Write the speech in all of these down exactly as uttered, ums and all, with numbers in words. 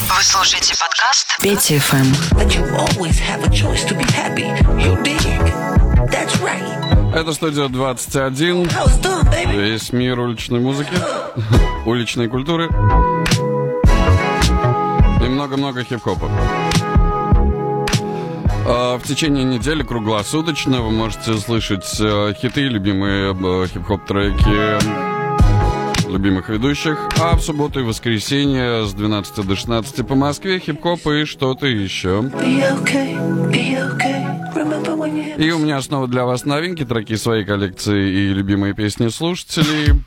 Вы слушаете подкаст Петя эф эм. Это студия двадцать один. Весь мир уличной музыки, уличной культуры и много-много хип-хопа. В течение недели круглосуточно вы можете слышать хиты, любимые хип-хоп-треки любимых ведущих, а в субботу и воскресенье с двенадцати до шестнадцати по Москве хип-хоп и что-то еще. И у меня снова для вас новинки, треки своей коллекции и любимые песни слушателей.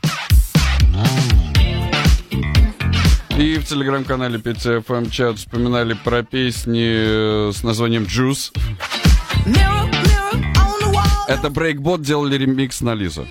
И в телеграм-канале Петя эф эм чат вспоминали про песни с названием Juice. Это Брейкбот делали ремикс на Лизу.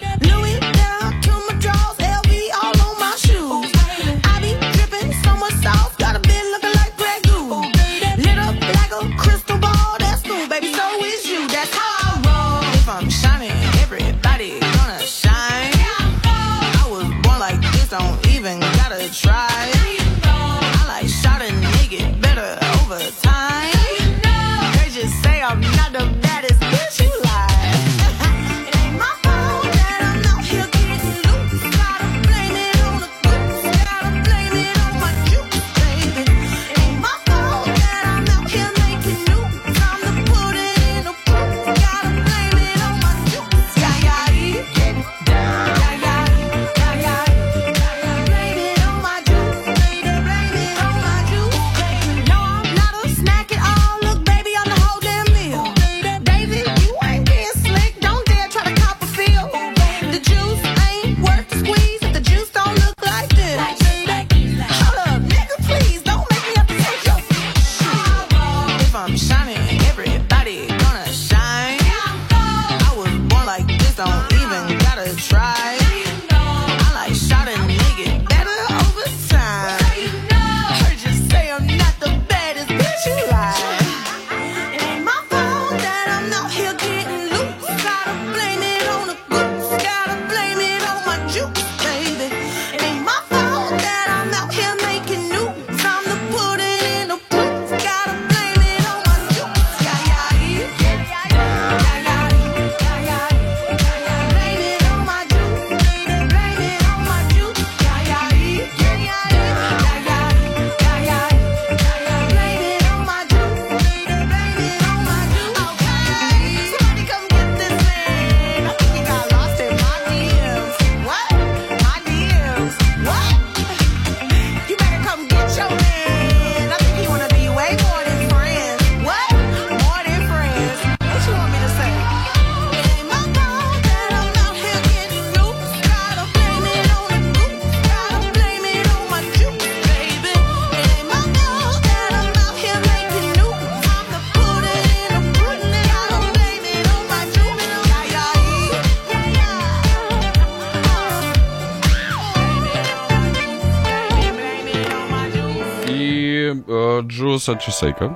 Juice от Чесейка.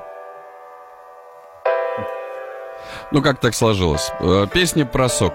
Ну, как так сложилось? Песня про сок.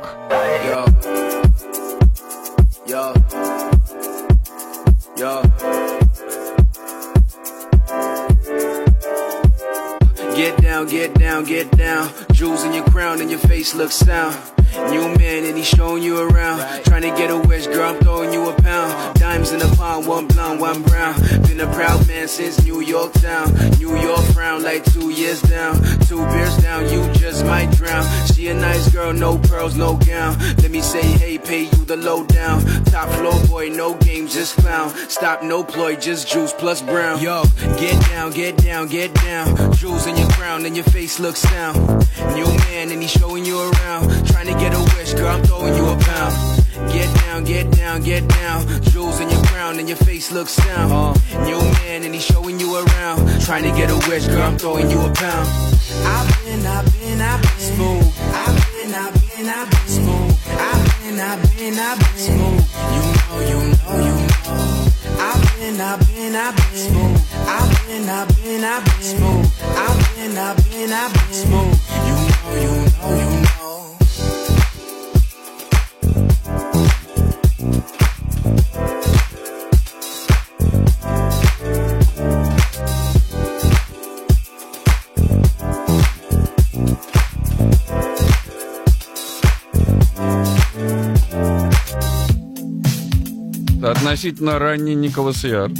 Get down, get down, get down. Jewels in your crown and your face looks sound. New man and he's showing you around. Trying to get a wish, girl, I'm throwing you a pound. Diamonds in the palm, one blonde, one brown. Been a proud man since New York town. New York frown like two years down. Two beers down, you just might drown. She a nice girl, no pearls, no gown. Let me say hey, pay you the lowdown. Top floor boy, no games, just clown. Stop, no ploy, just juice plus brown. Yo, get down, get down, get down. Jewels in your crown and your face looks sound. New man and he's showing you around. Trying to get a wish, girl, I'm throwing you a pound. Get down, get down, get down. Jewels in your crown and your face looks sound. uh, New man and he's showing you around. Trying to get a wish, girl, I'm throwing you a pound. I've been, I've been, I've been smooth. I've been, I've been, I've been smooth. I've been, I've been, I've been smooth. You know, you know, you know. I've been, I've been, I've been smooth. I've been, I've been, I've been smooth. I've been, I've been, I've been smooth. You know, you know, you know. относительно ранний Николас Яр.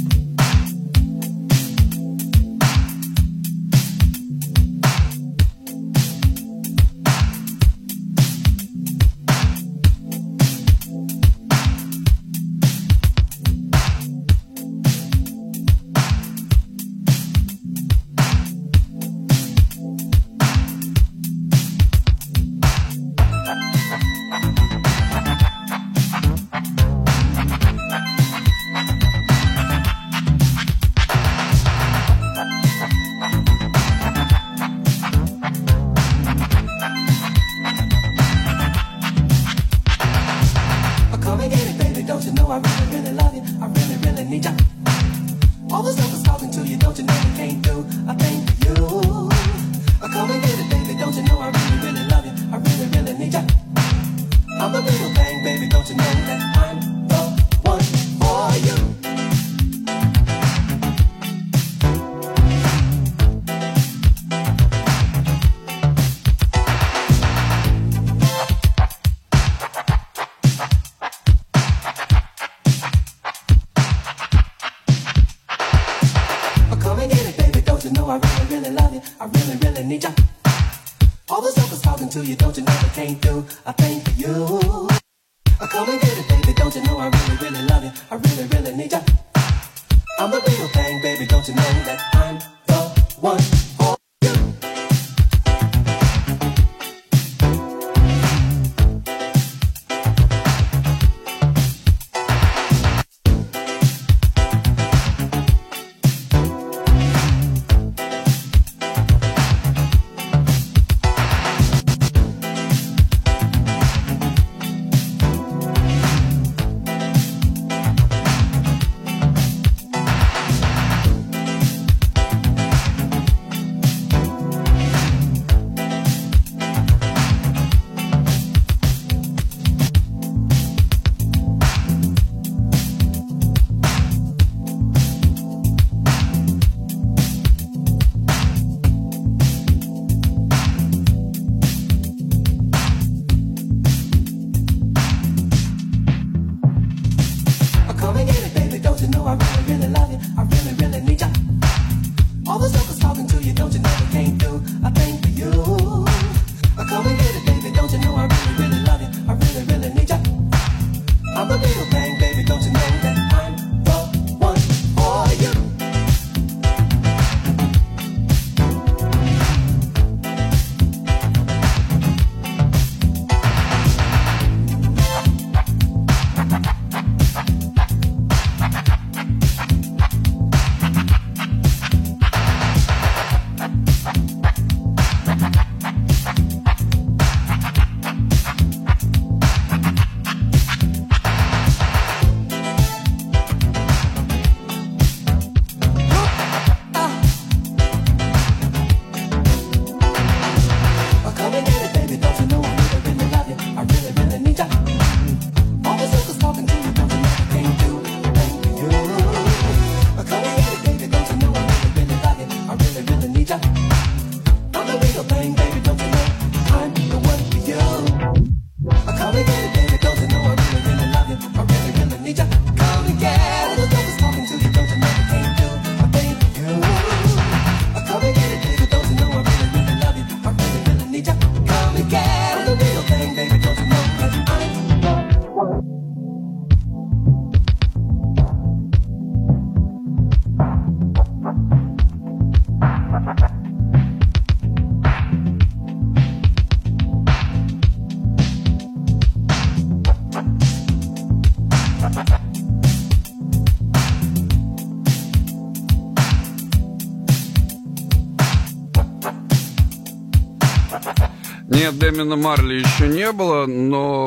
Нет, Дэмина Марли еще не было, но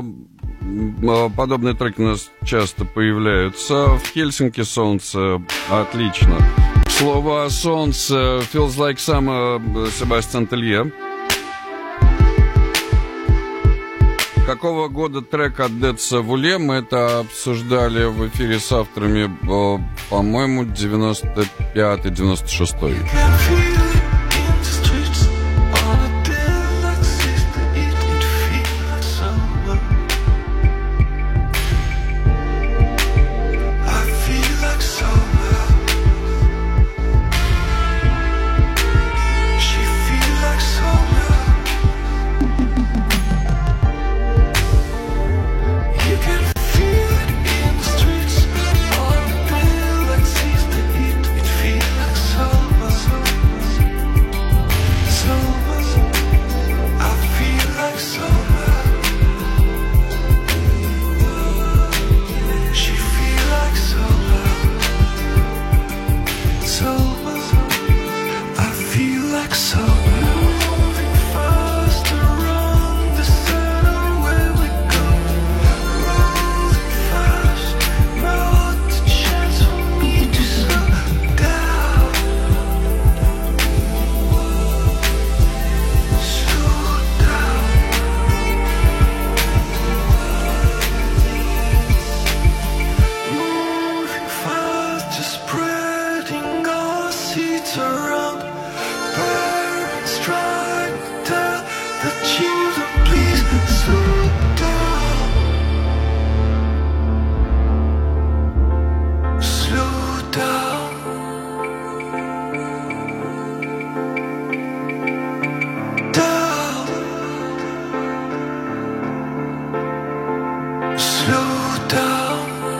подобные треки у нас часто появляются. В Хельсинки солнце, отлично. Слово о солнце, Feels Like Summer, Себастьян Телье. Какого года трек от Dead Savule? Мы это обсуждали в эфире с авторами, по-моему, девяносто пятый девяносто шестой. I around. Parents trying to tell the children, please slow down. Slow down. Down. Slow down.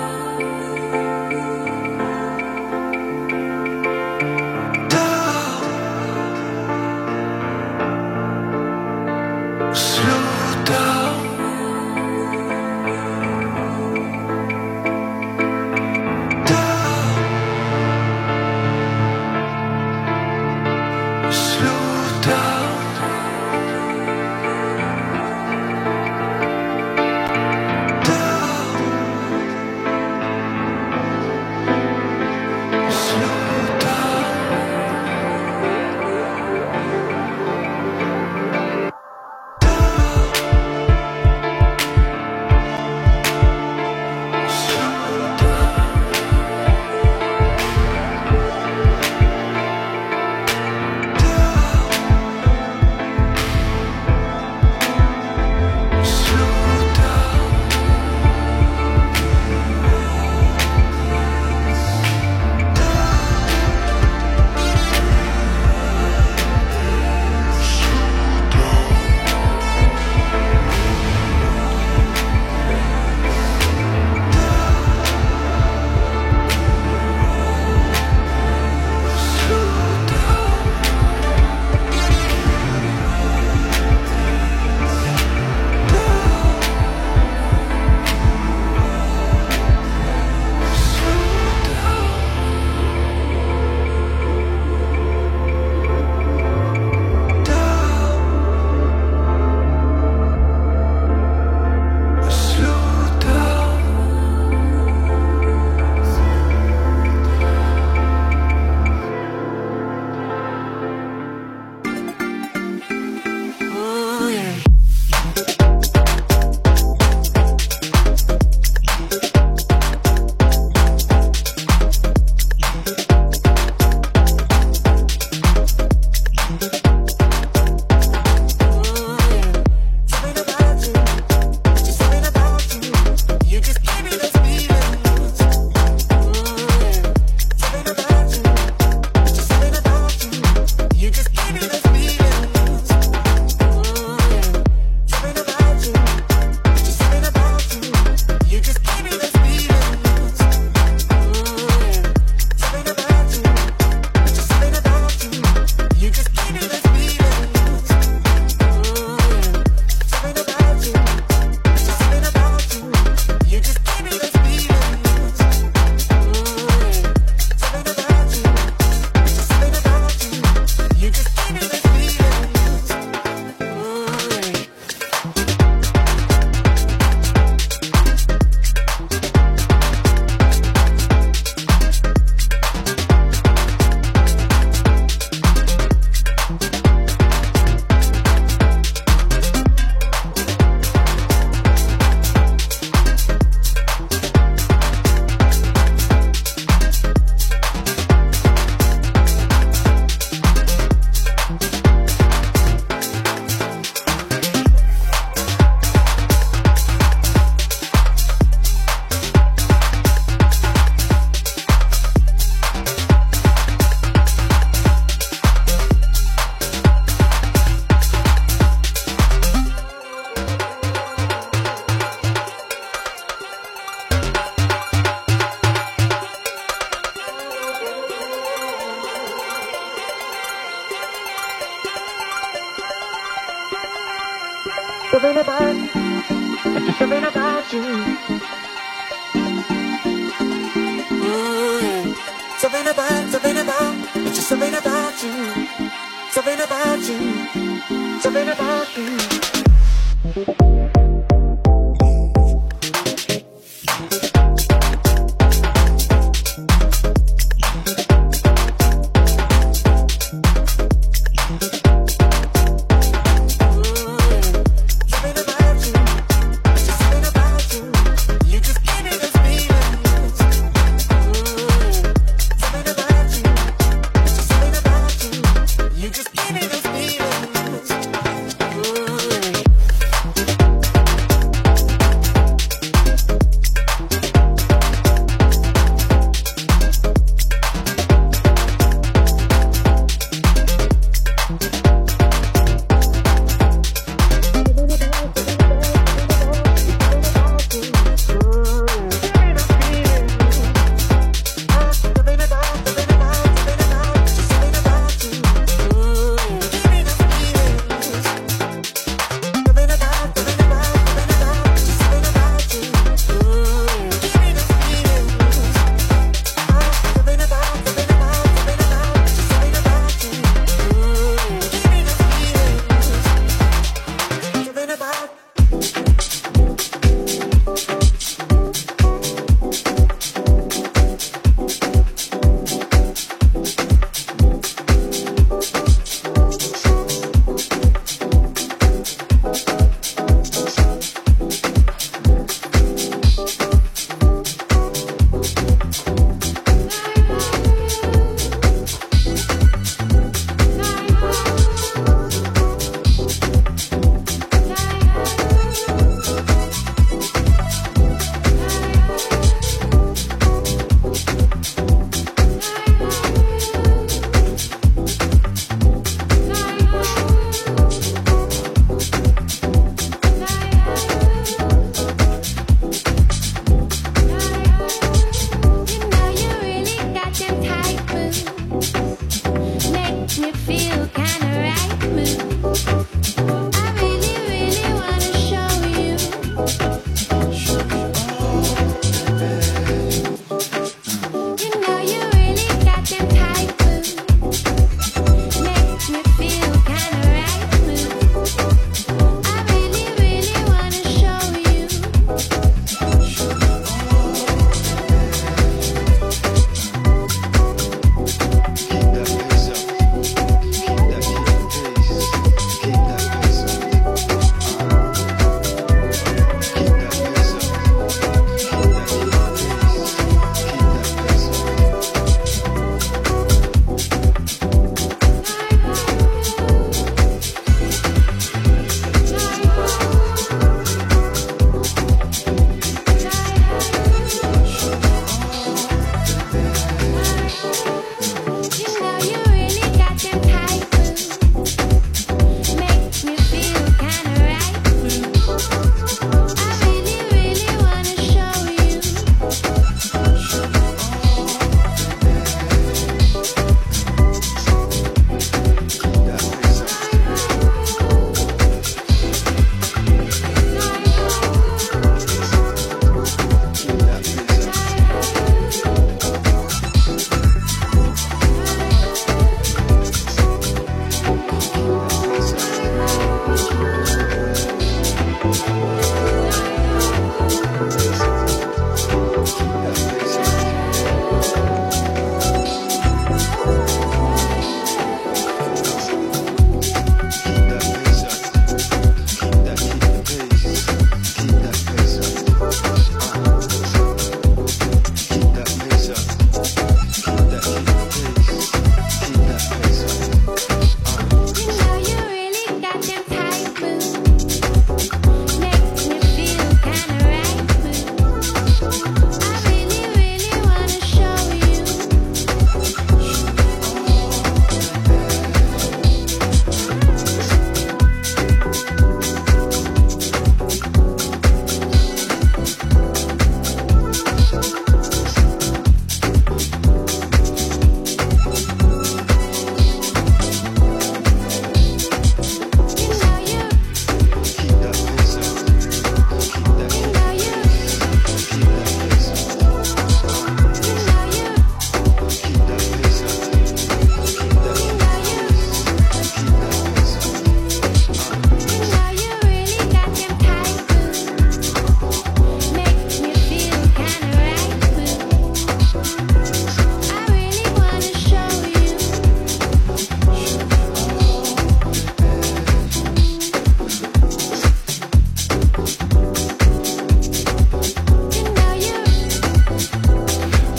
Something about you, just something about you. Mm, something about, something about, it's just something about you. Something about you, something about you. Something about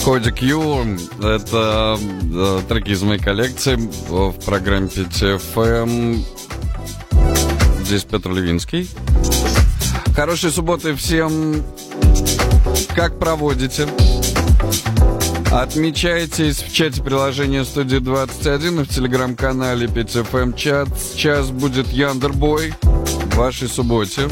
Коди Q. Это э, треки из моей коллекции в программе пи ти эф эм. Здесь Петр Левинский. Хорошей субботы всем. Как проводите? Отмечайтесь в чате приложения Студия двадцать один и в телеграм-канале пи ти эф эм чат. Сейчас будет Яндербой в вашей субботе.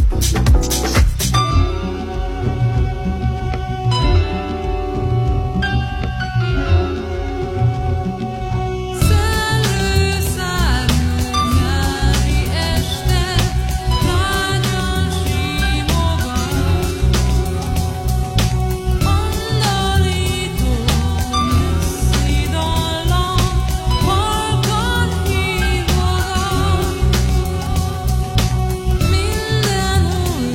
Minden új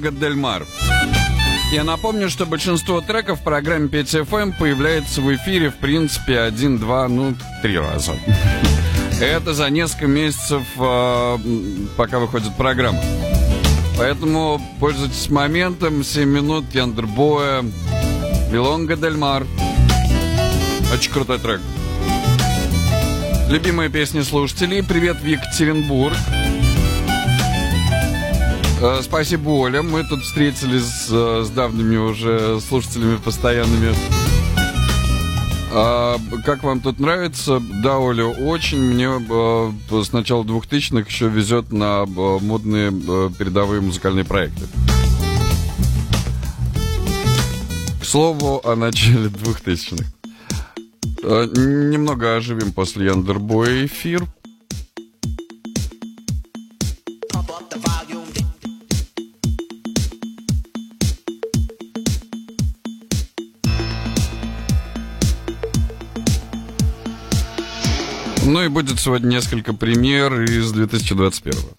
Вилонга дель Мар. Я напомню, что большинство треков в программе пять эф эм появляется в эфире, в принципе, один, два, ну, три раза. Это за несколько месяцев, пока выходит программа. Поэтому пользуйтесь моментом. семь минут Яндербоя, Вилонга дель Мар. Очень крутой трек. Любимые песни слушателей. Привет в Екатеринбург. Э, спасибо, Оля. Мы тут встретились с, с давними уже слушателями постоянными. А, как вам тут нравится? Да, Оля, очень. Мне э, с начала двухтысячных еще везет на э, модные э, передовые музыкальные проекты. К слову о начале двухтысячных. Э, немного оживим после Яндербоя эфир. Ну и будет сегодня несколько премьер из две тысячи двадцать первого.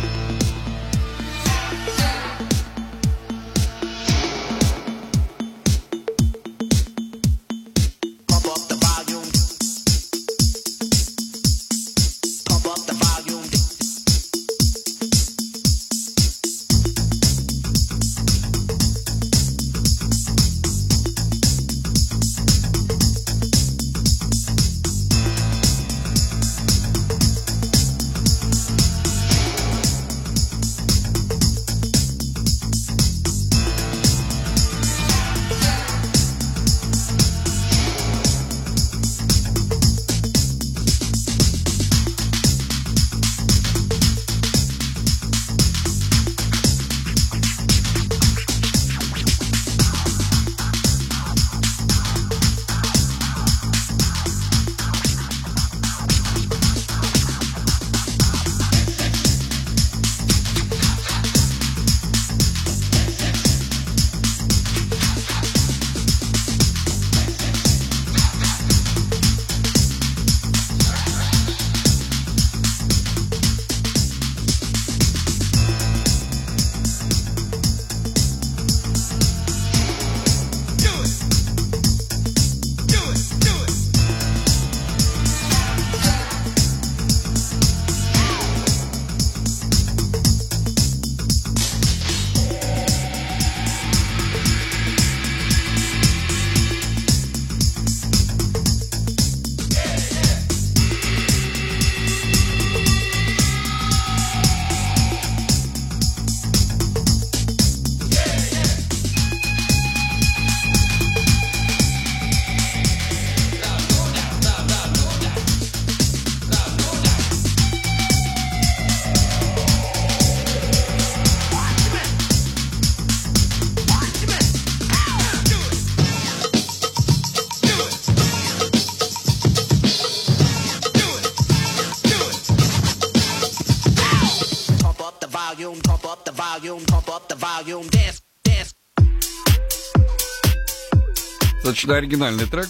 Достаточно оригинальный трек.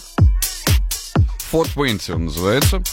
Фот Венти он называется.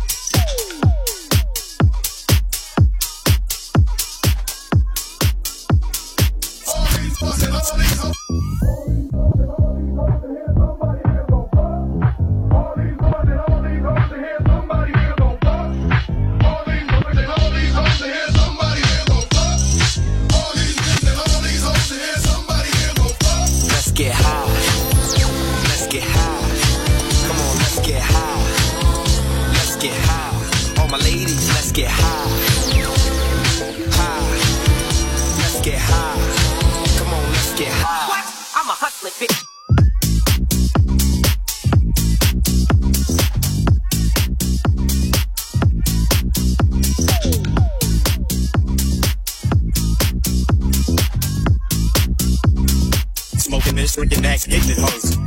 Smoking this, drinking that, getting it hoes.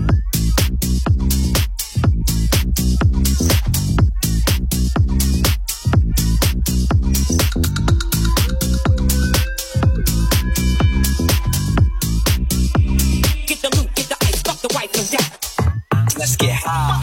Get the loot, get the ice, fuck the wife and that. Let's get high.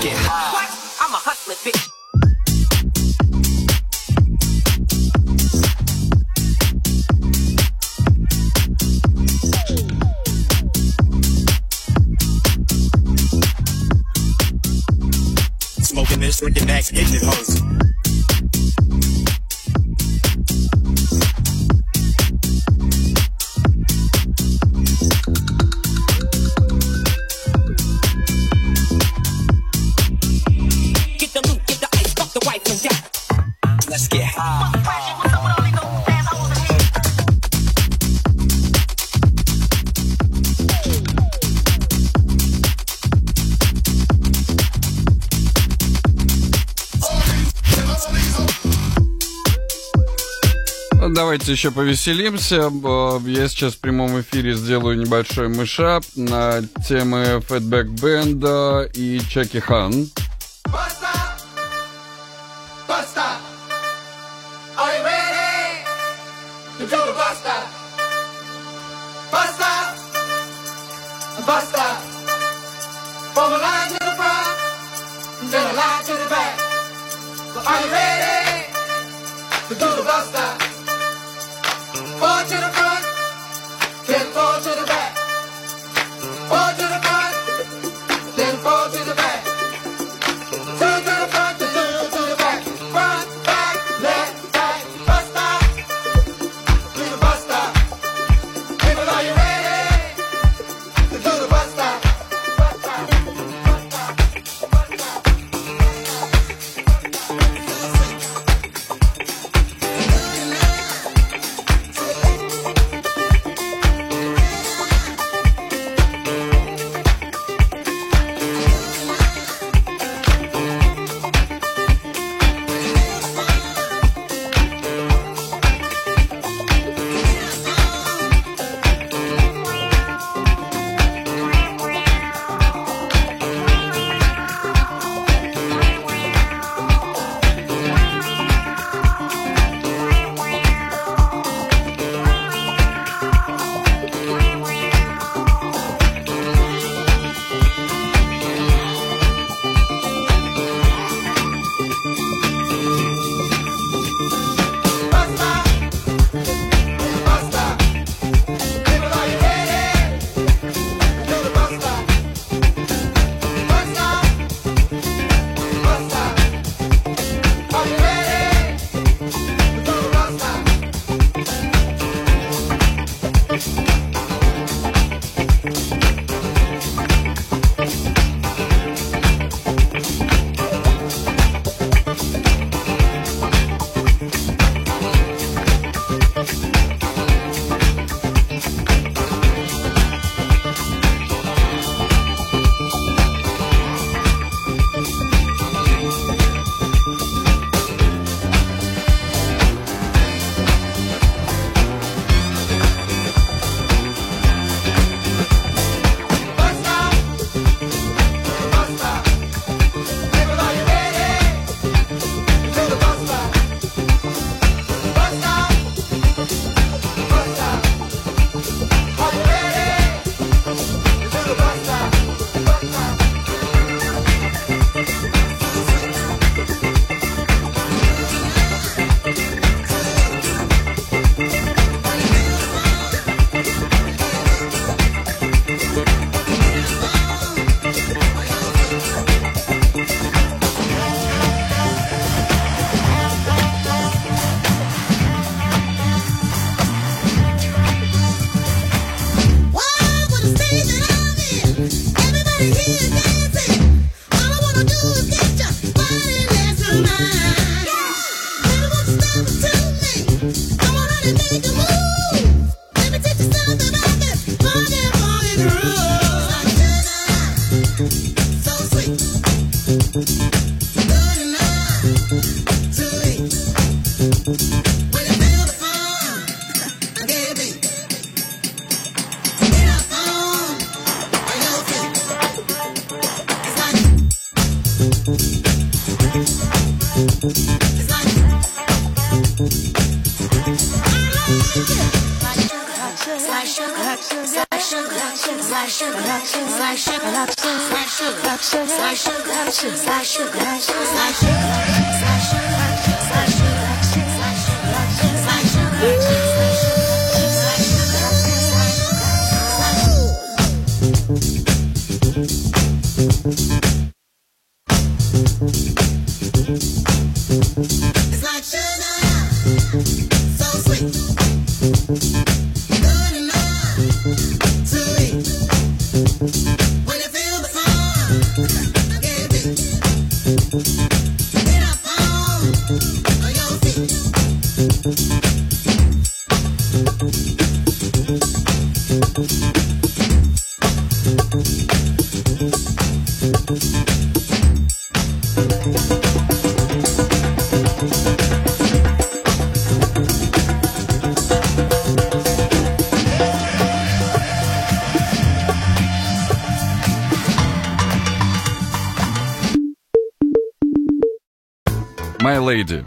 get high. What? I'm a hustler, bitch. Smoking this, drinking that, hitting it hoes. Get the loot, get the ice, fuck the wife and die. Let's get high. Давайте еще повеселимся. Я сейчас в прямом эфире сделаю небольшой мышап на темы Fatback Band и Чаки Хан. Four to the front, then four to the back. Four to the front, then four to the back. Two to the front, then two to the back. Front, back, left, right, bus stop. To the bus stop. People, are you ready to do the bus stop? Bus stop, bus stop, bus stop. Like sugar, like sugar, like sugar. It's like sugar, so sweet. Good enough to eat. When you feel the fun, give it. Get up on your feet. My Lady.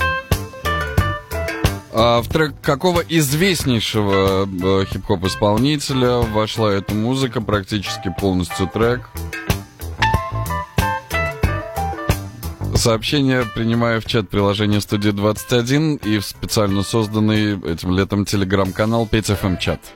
А в трек какого известнейшего э, хип-хоп исполнителя вошла эта музыка, практически полностью трек? Сообщение принимаю в чат приложения Студия двадцать один и в специально созданный этим летом телеграм-канал пять эф эм чат.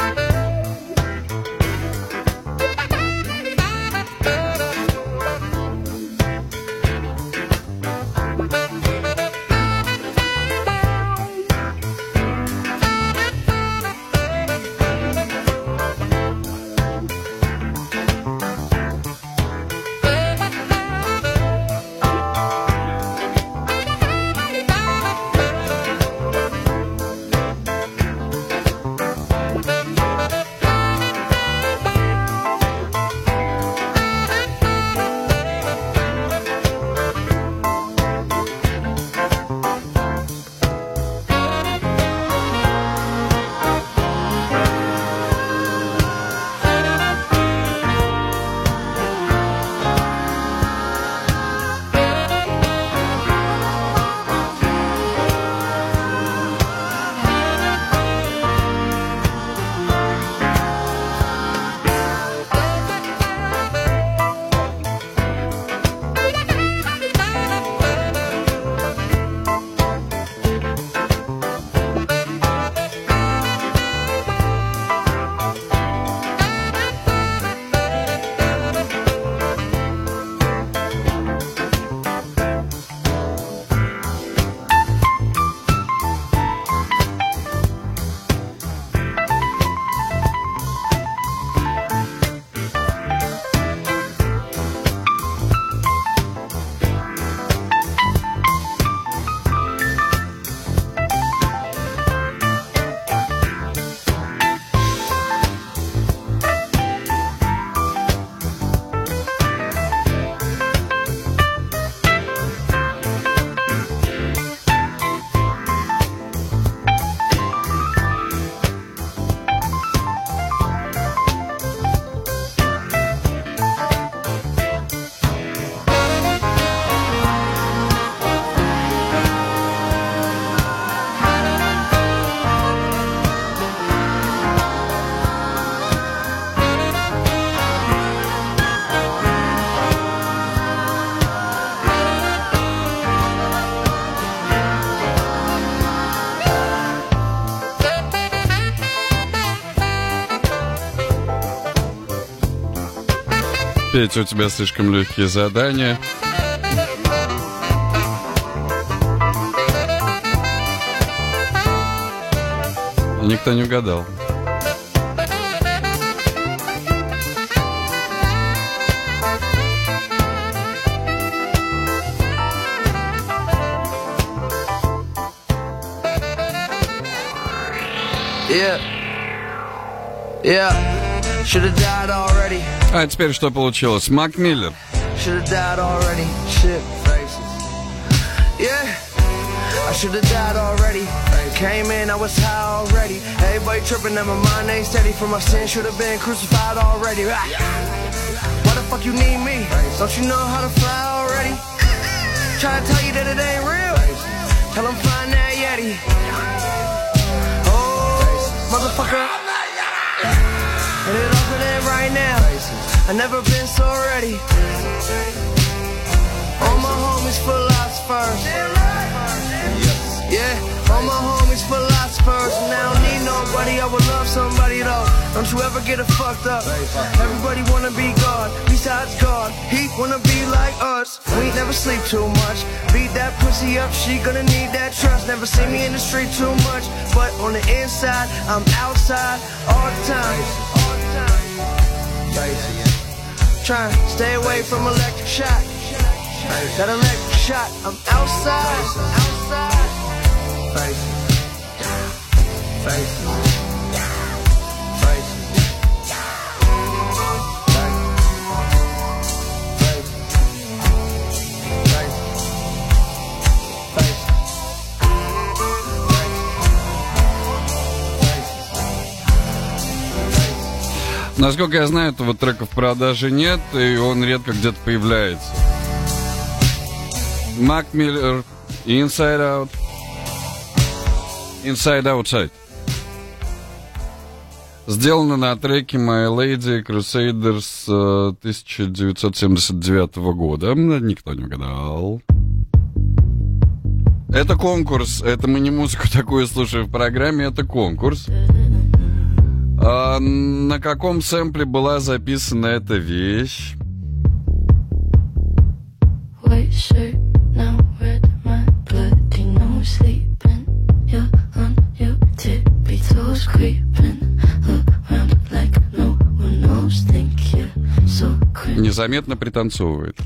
Петя, у тебя слишком легкие задания. Никто не угадал. Yeah. Yeah. Should have died already. А теперь что получилось? Мак Миллер. Should have died already. Shit faces. Yeah. I should have died already. Came in, I was high already. Everybody tripping and my mind ain't steady. For my sin, should have been crucified already. Why the fuck you need me? Don't you know how to fly already? Try to tell you that it ain't real. Tell them find that Yeti. Oh, motherfucker. and it off of that right now. I never been so ready. All my homies philosophers. Yeah, all my homies philosophers. And I don't need nobody, I would love somebody though. Don't you ever get it fucked up. Everybody wanna be God, besides God. He wanna be like us. We ain't never sleep too much. Beat that pussy up, she gonna need that trust. Never see me in the street too much, but on the inside, I'm outside all the time. All the time. Trying to stay away from electric shock. That electric shot, I'm outside, outside. Face, face, face, Насколько я знаю, этого трека в продаже нет, и он редко где-то появляется. Mac Miller, Inside Out. Inside Outside. Сделано на треке My Lady Crusaders тысяча девятьсот семьдесят девятого года. Никто не угадал. Это конкурс. Это мы не музыку такую слушаем в программе. Это конкурс. А на каком сэмпле была записана эта вещь? Незаметно пританцовывает.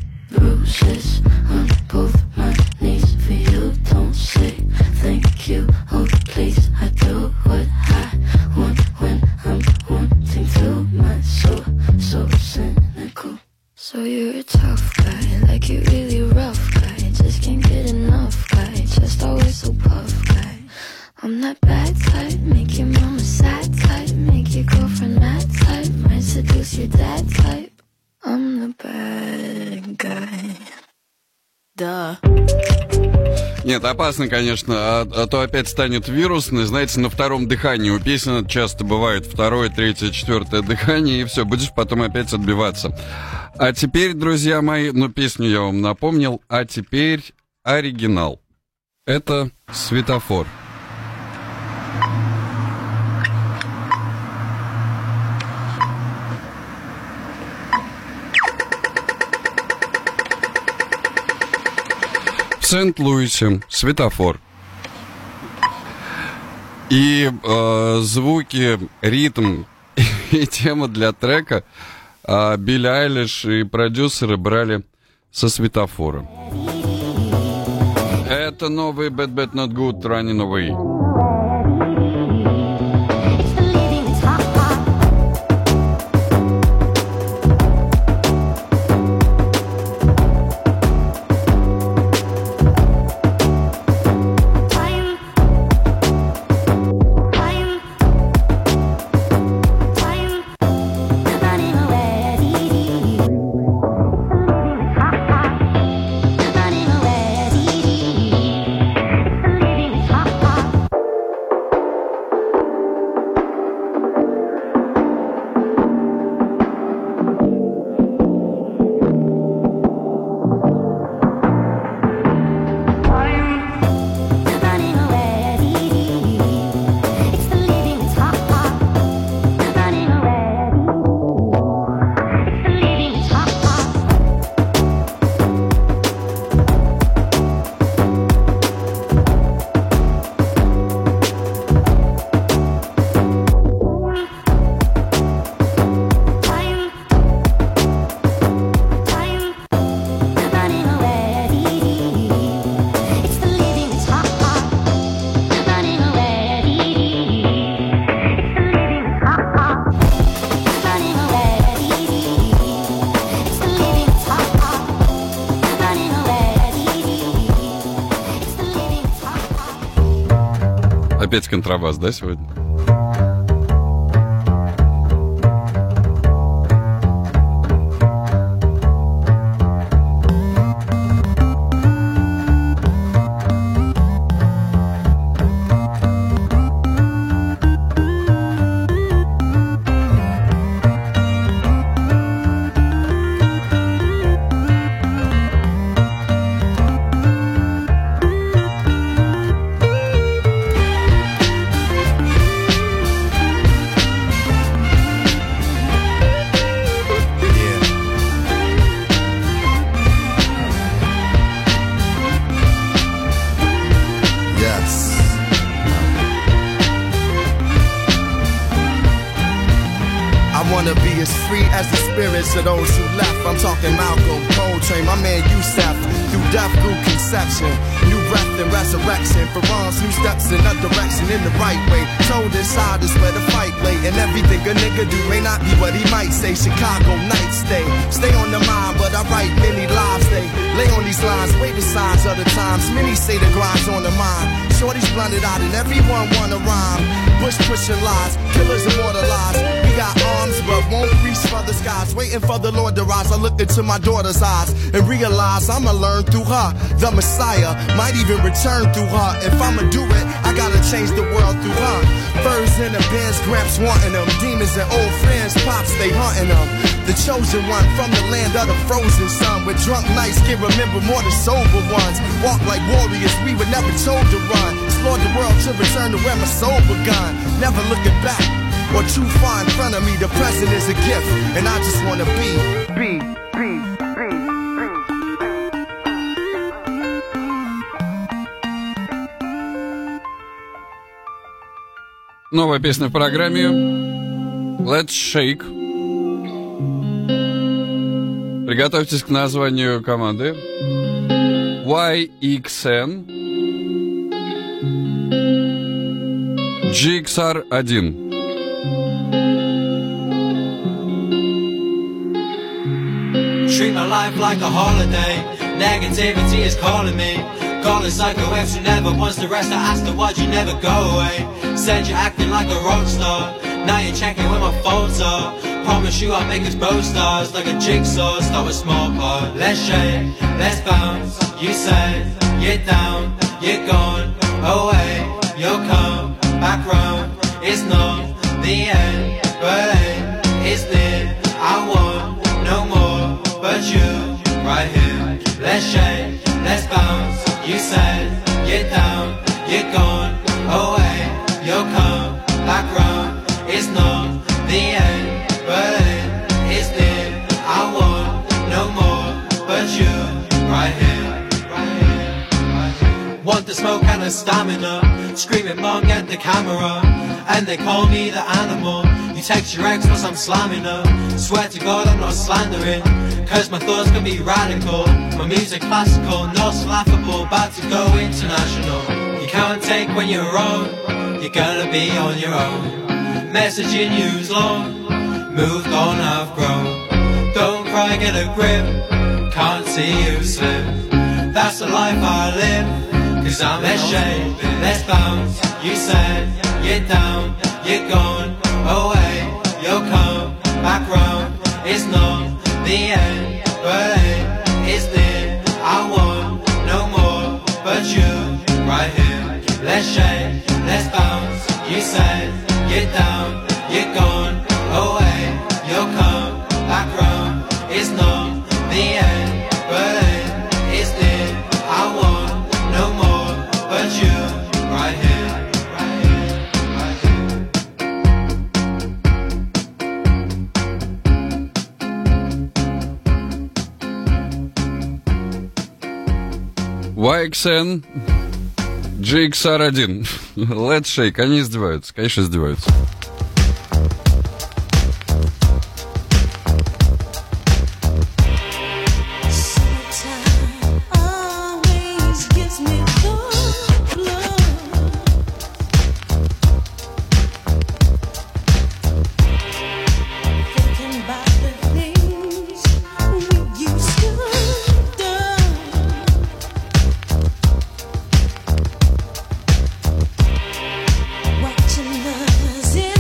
So you're a tough guy, like you're really rough guy. Just can't get enough guy, just always so puff guy. I'm that bad type, make your mama sad type, make your girlfriend mad type, might seduce your dad type. I'm the bad guy. Duh. Нет, опасно, конечно, а, а то опять станет вирусный. Знаете, на втором дыхании у песен часто бывает второе, третье, четвертое дыхание, и все, будешь потом опять отбиваться. А теперь, друзья мои, ну, песню я вам напомнил, а теперь оригинал. Это «Светофор». В Сент-Луисе светофор. И э, звуки, ритм и тема для трека э, Билли Айлиш и продюсеры брали со светофора. Это новый Bad Bad Not Good Running Away. Опять контрабас, да, сегодня? spirits of those who left. I'm talking Malcolm, Coltrane, my man Yusef. Through death, through conception, new breath and resurrection. For wrongs, new steps in a direction in the right way. Told inside is where the fight lay. And everything a nigga do may not be what he might say. Chicago night stay. Stay on the mind, but I write many lives. They lay on these lines, wait the signs of the times. Many say the grind's on the mind. Shorty's blunted out and everyone wanna rhyme. Bush pushing lies, killers immortalized. We got arms but won't reach for the skies. Waiting for the Lord to rise. I look into my daughter's eyes and realize I'ma learn through her. The Messiah might even return through her. If I'ma do it, I gotta change the world through her. Furs in the bins, Gramps wanting them. Demons and old friends, Pops, they hunting them. The chosen one from the land of the frozen sun. With drunk nights can remember more than sober ones. Walk like warriors, we were never told to run. Explore the world to return to where my soul begun. Never looking back or too far in front of me. The present is a gift, and I just wanna be, be, be, be, be. Новая песня в программе Let's Shake. Приготовьтесь к названию команды. уай икс эн джи икс ар один. Treat my life like a holiday. Negativity is calling me. Calling psycho ex who never wants to rest. I asked her why'd you never go away. Said you're acting like a rock star. Now you're checking where my phones are. Promise you I'll make us both stars. Like a jigsaw, start with small part. Let's shake, let's bounce. You said you're down, you're gone away. You'll come back round. It's not the end, but hey, it's near. I want no more but you right here. Let's shake, let's bounce. You said you're down, you're gone away. You'll come back round. It's not the end, but hey, it's near. I want no more but you right here. Want the smoke and the stamina. Screaming mom, get the camera. And they call me the animal. You text your ex once I'm slamming her. Swear to God I'm not slandering. Cause my thoughts can be radical. My music classical, not laughable. About to go international. You can't take when you're wrong. You're gonna be on your own. Messaging you's long. Moved on, I've grown. Don't cry, get a grip. Can't see you slip. That's the life I live. Cause I'm let's shake, let's bounce. You said you're down, you're gone away. You'll come back round. It's not the end, but hey, it's near. I want no more but you right here. Let's shake, let's bounce. You said you're down, you're gone away. You'll come back round. It's not the end, but hey, it's near. I want no more but you right here. уай икс эн джи икс ар один. Let's Shake. Они издеваются. Конечно, издеваются. Watching us in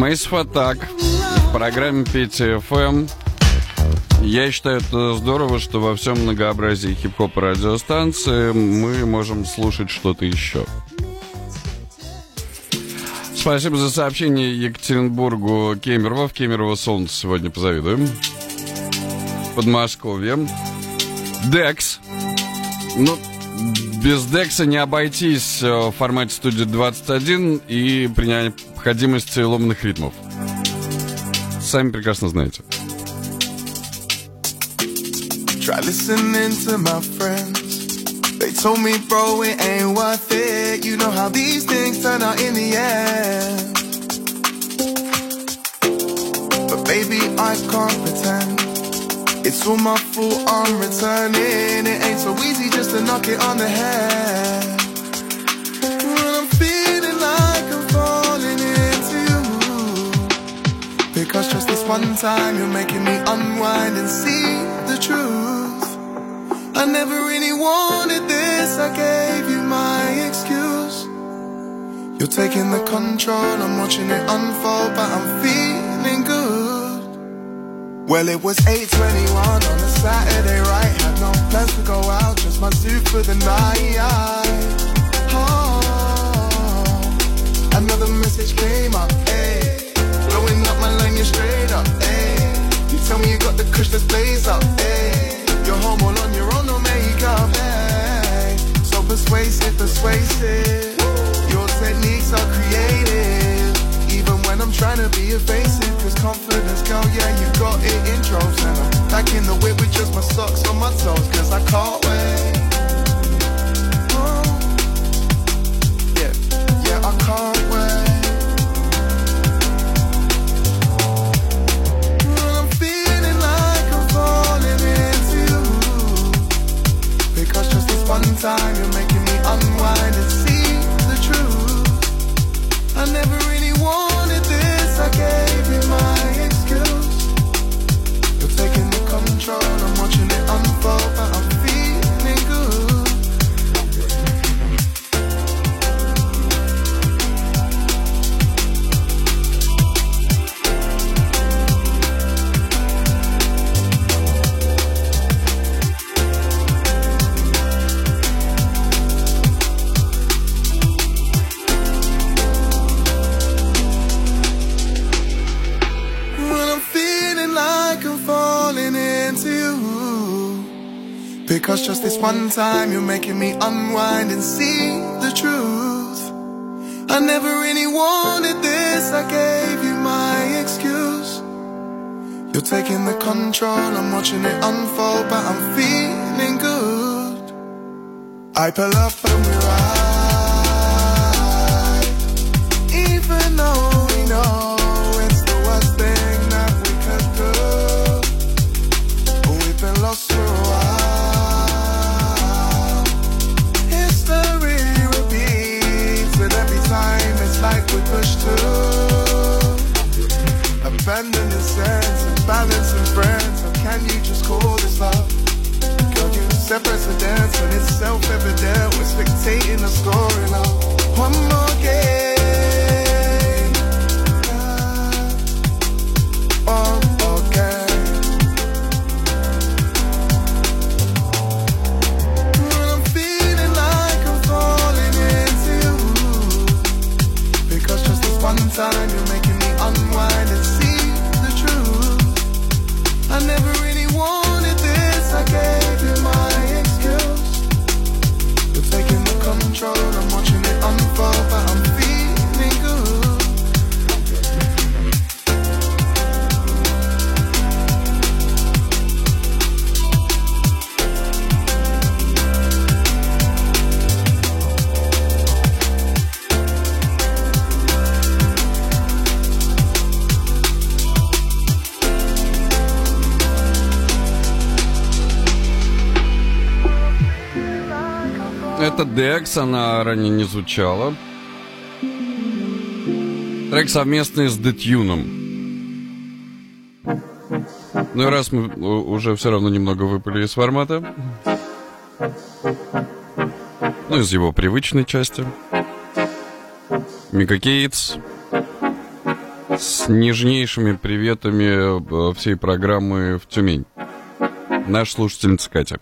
Massive Attack в программе Петя эф эм. Я считаю, это здорово, что во всем многообразии хип-хопа радиостанции мы можем слушать что-то еще. Спасибо за сообщение Екатеринбургу Кемерово. В Кемерово солнце сегодня позавидуем. Подмосковье. Декс. Ну, без Декса не обойтись в формате студии двадцать один и при необходимости ломаных ритмов. Сами прекрасно знаете. Try listening to my friends. They told me, bro, it ain't worth it. You know how these things turn out in the end. But baby, I can't pretend. It's all my fault, I'm returning. It ain't so easy just to knock it on the head. When I'm feeling like I'm falling into you, because just this one time you're making me unwind and see the truth. I never really wanted this, I gave you my excuse. You're taking the control, I'm watching it unfold, but I'm feeling good. Well, it was eight twenty-one on a Saturday, right? Had no plans to go out, just my suit for the night. Oh, another message came up, ayy. Blowing up my line, you're straight up, ayy. You tell me you got the kush, let's blaze up, ayy. You're home all on your own, no makeup, hey. So persuasive, persuasive. Your techniques are creative. Even when I'm trying to be evasive. Cause confidence, girl, yeah, you got it in droves. And I'm back in the whip with just my socks on my toes. Cause I can't wait. Oh. Yeah, yeah, I can't wait. One time you're making me unwind and see the truth. I never really wanted this, I gave you my excuse. You're taking the control, I'm watching it unfold, but I'm feeling good. Because just this one time you're making me unwind and see the truth. I never really wanted this, I gave you my excuse. You're taking the control, I'm watching it unfold, but I'm feeling good. I pull up and we ride, even though we know it's the worst thing that we could do. We've been lost for a while. Time it's like we push to abandon the sense of balance and friends. How can you just call this love? Girl, you set precedence when it's self-evident. We're spectating the scoring of one more game. One more game. One time you're making me unwind and see the truth. I never really wanted this, I gave you my excuse. You're taking the control, I'm watching it unfold, but I'm feeling good. Это Декс, она ранее не звучала. Трек совместный с Детюном. Ну и раз мы уже все равно немного выпали из формата, ну из его привычной части, Мика Кейтс, С нежнейшими приветами всей программы в Тюмень. Наша слушательница Катя.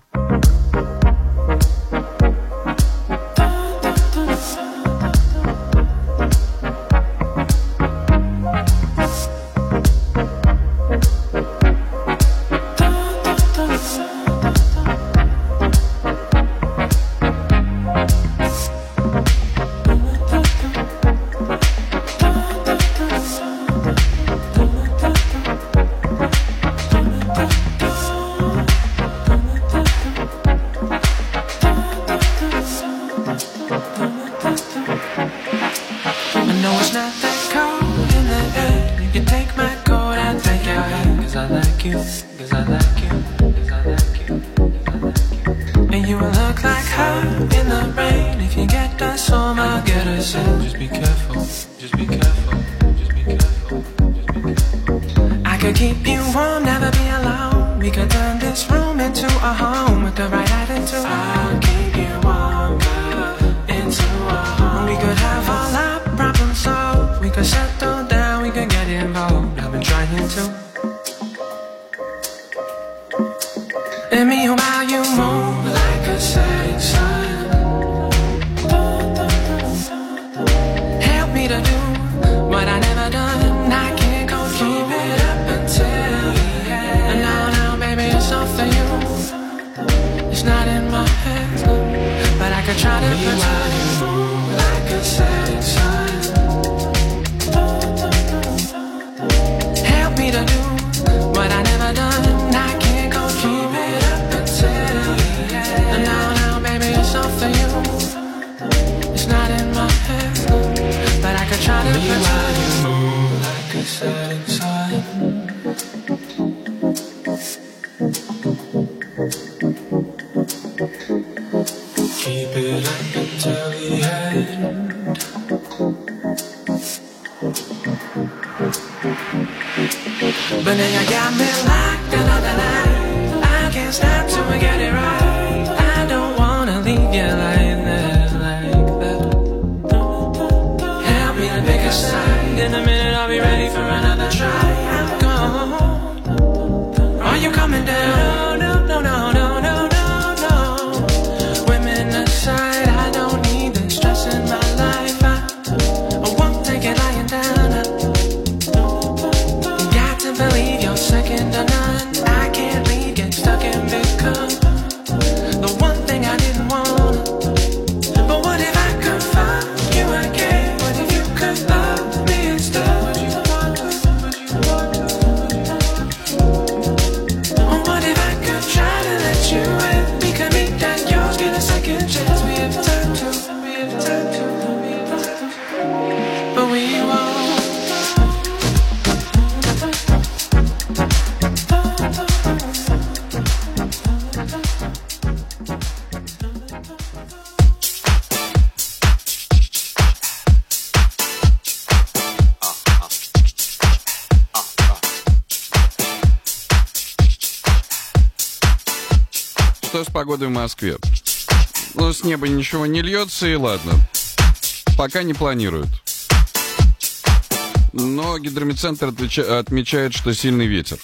Что с погодой в Москве? Ну, с неба ничего не льется, и ладно. Пока не планируют. Но гидрометцентр отвеча- отмечает, что сильный ветер.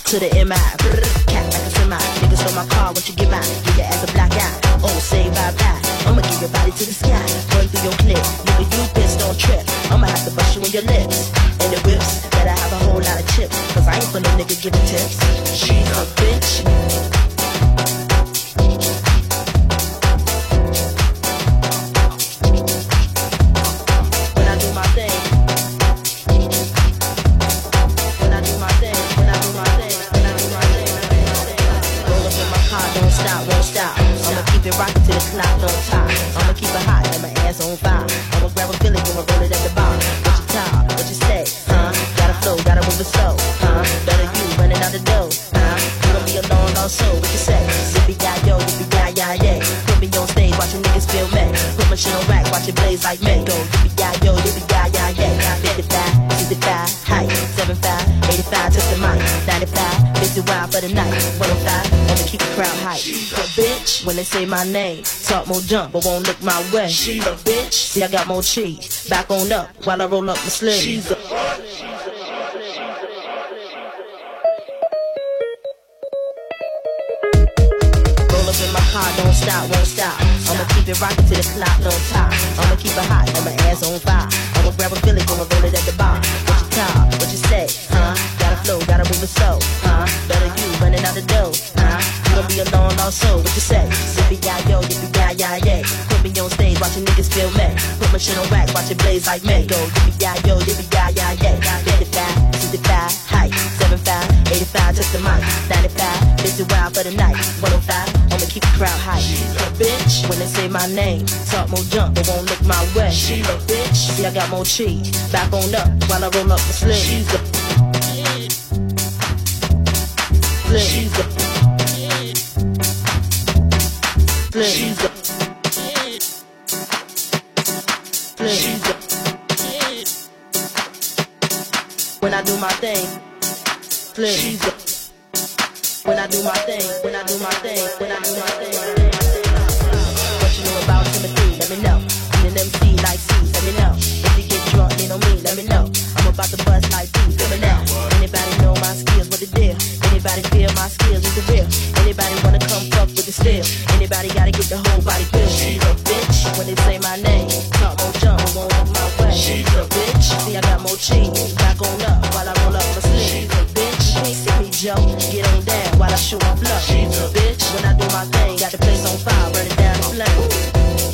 to the M I. Brr, cat like a semi. Niggas stole my car, what you get mine? Give your ass a black eye. Oh, say bye bye. I'ma give your body to the sky. Run through your clip. Nigga, you bitch, don't trip. I'ma have to bust you in your lips. And the whips, better have a whole lot of chips. Cause I ain't for no nigga giving tips. She's a bitch. Rockin' to the clock, no top. I'ma keep it hot and my ass on fire. I'ma grab a Philly, gonna roll it at the bar. What you talk, what you say, huh? Gotta flow, gotta move it slow, huh? Better you running out the door, huh? You gon' be alone also, what you say? Zippy ya yo, yippee ya ya yeah. Put me on stage, watch your niggas feel me. Put my shit on rack, watch it blaze like me. Go yippee ya yo, yippee ya ya yeah. fifty-five, sixty-five, height, seventy-five, eighty-five, touch the mic, ninety-five, fifty wild for the night, one oh five, I'ma keep the crowd hype. But bitch, when they say my name, talk more jump, but won't look my way. She's a bitch. See, I got more cheese. Back on up while I roll up my sleeve. She's a roll up in my car, don't stop, won't stop. I'ma keep it rockin' to the clock, no top. I'ma keep it hot and my ass on fire. I'ma grab a Philly, gonna roll it at the bar. What you talk, what you say, huh? Gotta flow, gotta move it slow, huh? Better you running out the door, huh? You gon' be alone also, what you say? Zippy ya yo, yippee ya ya yeah. Put me on stage, watch your niggas feel me. Put my shit on rack, watch it blaze like me. Go yippee ya yo, yippee ya ya yeah. fifty-five, sixty-five, height, seventy-five, eighty-five, touch the mic, ninety-five, fifty wild for the night, one oh five, I'ma keep the crowd hype. A bitch, when they say my name, talk more jump, but won't look my way. She a bitch, see I got more cheese. Back on up while I roll up the sleeve. She's a She's a She's a She's a When I do my thing, flip. She's a When I do my thing, when I do my thing, when I do my thing. What you know about Timothy? Let me know. An M C like C, let me know. If you get drunk, lean on me, let me know. I'm about to bust like B, let me know. Anybody know my skills, what the deal? Anybody feel my skills is the real? Anybody wanna come fuck with the steel? Anybody gotta get the whole body feel? She's a bitch, when they say my name. Talk more jump, won't look my way. She's a bitch, see I got more cheese. Back on up while I roll up my sleeve. She's a bitch, you can't see me Joe. Get on down while I shoot my blow. She's a bitch, when I do my thing. Got the place on fire, burn it down in flames.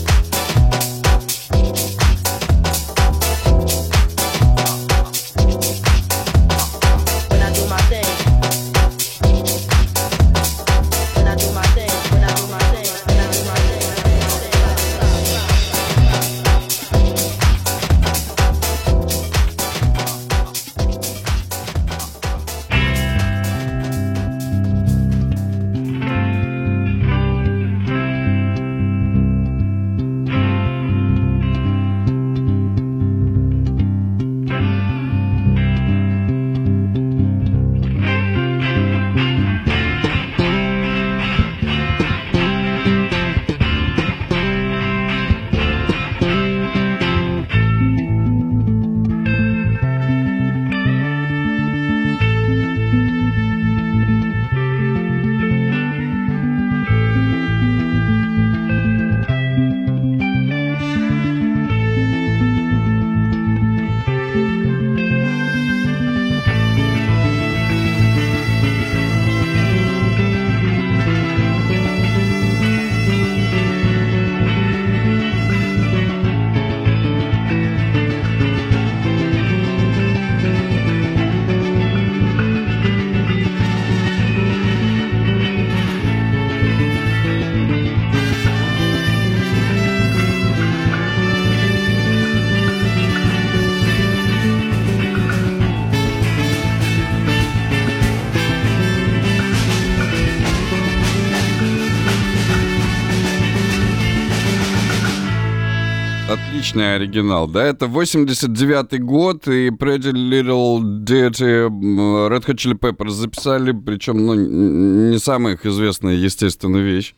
Отличный оригинал. Да, это восемьдесят девятый год, и Pretty Little Dirty Red Hot Chili Peppers записали, причем, ну, не самая их известная, естественно, вещь.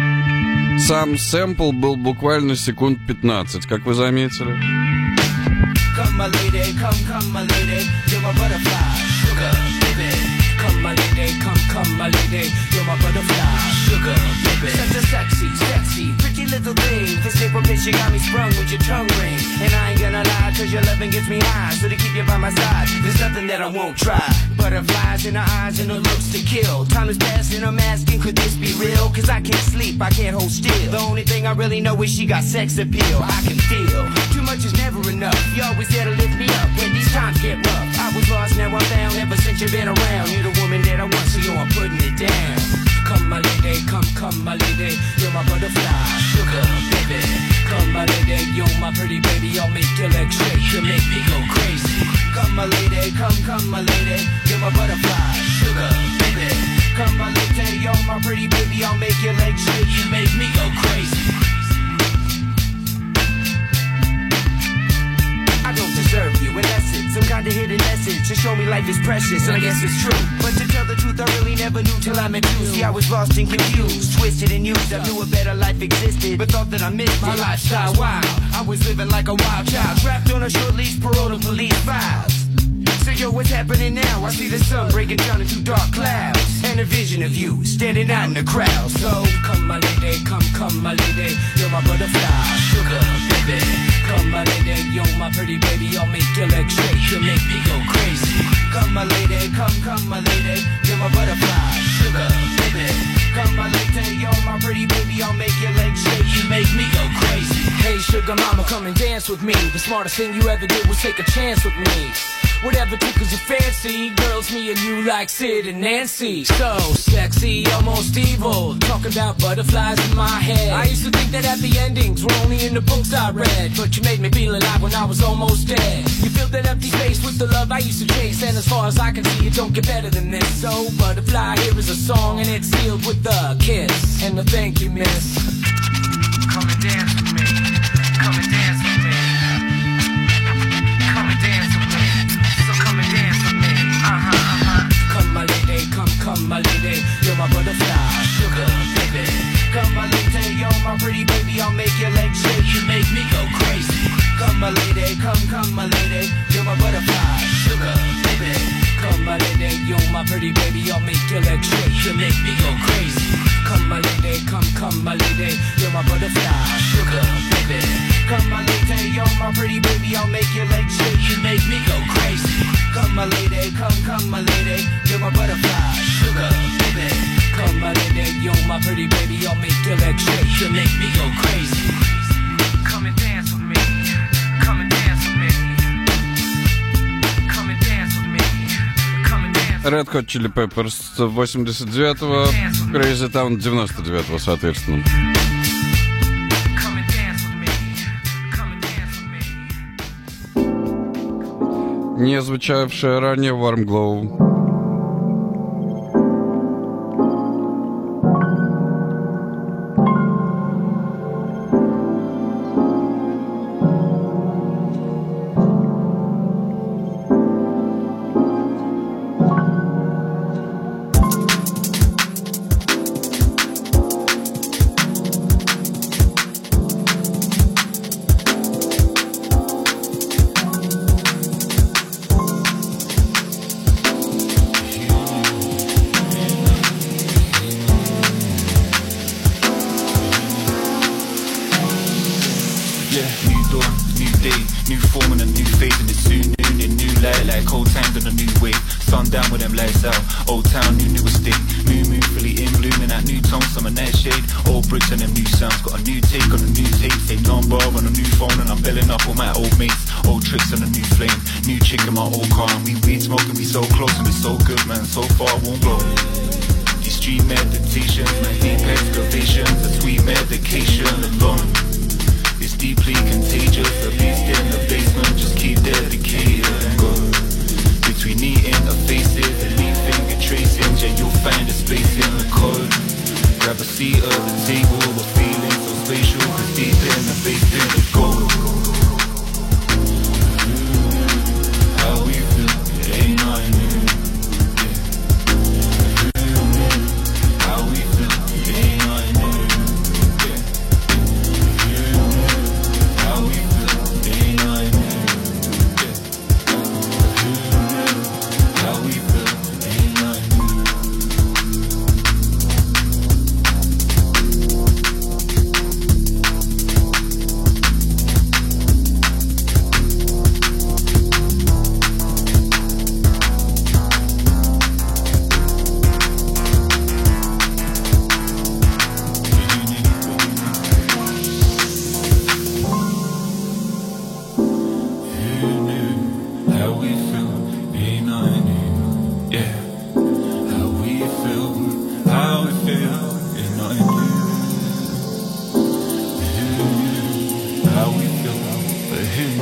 Сам сэмпл был буквально секунд пятнадцать, как вы заметили. Come my lady, come, come my lady, you're my butterfly, sugar, baby. Come my lady, come, come my lady, you're my butterfly, sugar, baby. Such a sexy, sexy, pretty little thing. This April bitch, you got me sprung with your tongue ring. And I ain't gonna lie, cause your loving gets me high. So to keep you by my side, there's nothing that I won't try. Butterflies in her eyes and her looks to kill. Time is passing, I'm asking, could this be real? Cause I can't sleep, I can't hold still. The only thing I really know is she got sex appeal. I can feel, too much is never enough. You always there to lift me up when these times get rough. I was lost, now I'm found, ever since you've been around. You're the woman that I want, so yo, I'm putting it down. Come my lady, come, come my lady, you're my butterfly, sugar, baby. Come my lady, you're my pretty baby, I'll make your legs shake, you make me go crazy. Come my lady, come, come my lady, you're my butterfly, sugar, baby. Come my lady, you're my pretty baby, I'll make your legs shake, you make me go crazy. I don't deserve you, and that's it. Some kind of hidden message to show me life is precious, and I guess it's true. But to tell the truth, I really never knew till I met you. See, I was lost and confused, twisted and used. I knew a better life existed, but thought that I missed my lifestyle. Wild, I was living like a wild child, trapped on a short leash, parole to police files. So yo, what's happening now? I see the sun breaking down into dark clouds, and a vision of you standing out in the crowd. So come my lady, come, come my lady, you're my butterfly, sugar, baby. Come my lady, you're my pretty baby, I'll make your legs shake, you make me go crazy. Come my lady, come, come my lady, you're my butterfly, sugar, baby. Come my lady, you're my pretty baby, I'll make your legs shake, you make me go crazy. Hey sugar mama, come and dance with me. The smartest thing you ever did was take a chance with me. Whatever tickles your fancy, girls, me and you like Sid and Nancy. So sexy, almost evil, talking about butterflies in my head. I used to think that happy endings were only in the books I read, but you made me feel alive when I was almost dead. You filled that empty space with the love I used to chase, and as far as I can see, it don't get better than this. So butterfly, here is a song, and it's sealed with a kiss and a thank you, miss. Come and dance with me, come and dance with me, come and dance with me. Come and dance with me, uh-huh, uh-huh. Come my lady, come, come my lady, you're my butterfly, sugar, baby. Come my lady, you're my pretty baby, I'll make your legs shake, you make me go crazy. Come my lady, come, come my lady, you're my butterfly, sugar, baby. Come my lady, you're my pretty baby, I'll make your legs shake, you make me go crazy. Come my lady, come, come my lady, you're my butterfly, sugar, baby. Come my lady, you're my pretty baby, I'll make your legs shake, you make me go crazy. Come my lady, come, come my lady, you're my butterfly, sugar, baby. Come my lady, you're my pretty baby, I'll make your legs shake, you make me go crazy. Come and dance with me, come and dance with me, come and dance with me, come and dance with me. Red Hot Chili Peppers восемьдесят девятого, Crazy Town девяносто девятого, соответственно. Не звучавшая ранее Warm Glow.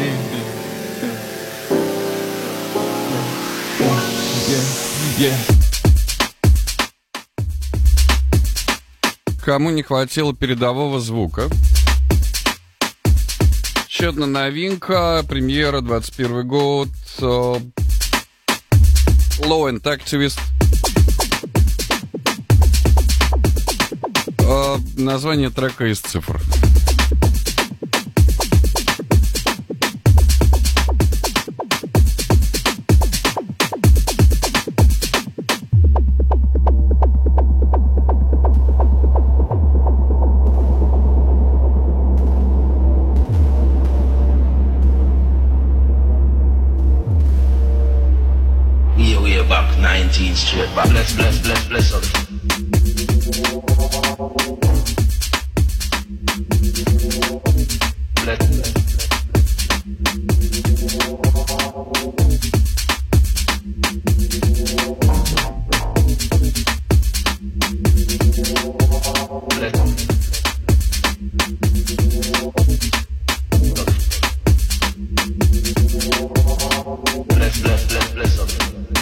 Кому не хватило передового звука? Еще одна новинка, премьера, двадцать первый год. Low End Activist. Название трека из цифр. nineteen straight back. Bless, bless, bless, bless us. Bless, bless. Bless, bless, bless, bless us.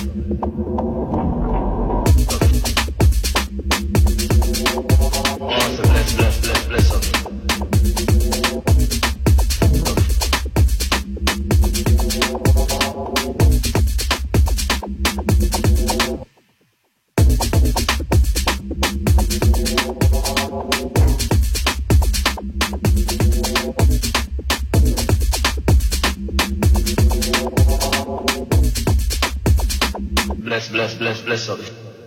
Bless, bless, bless, bless us.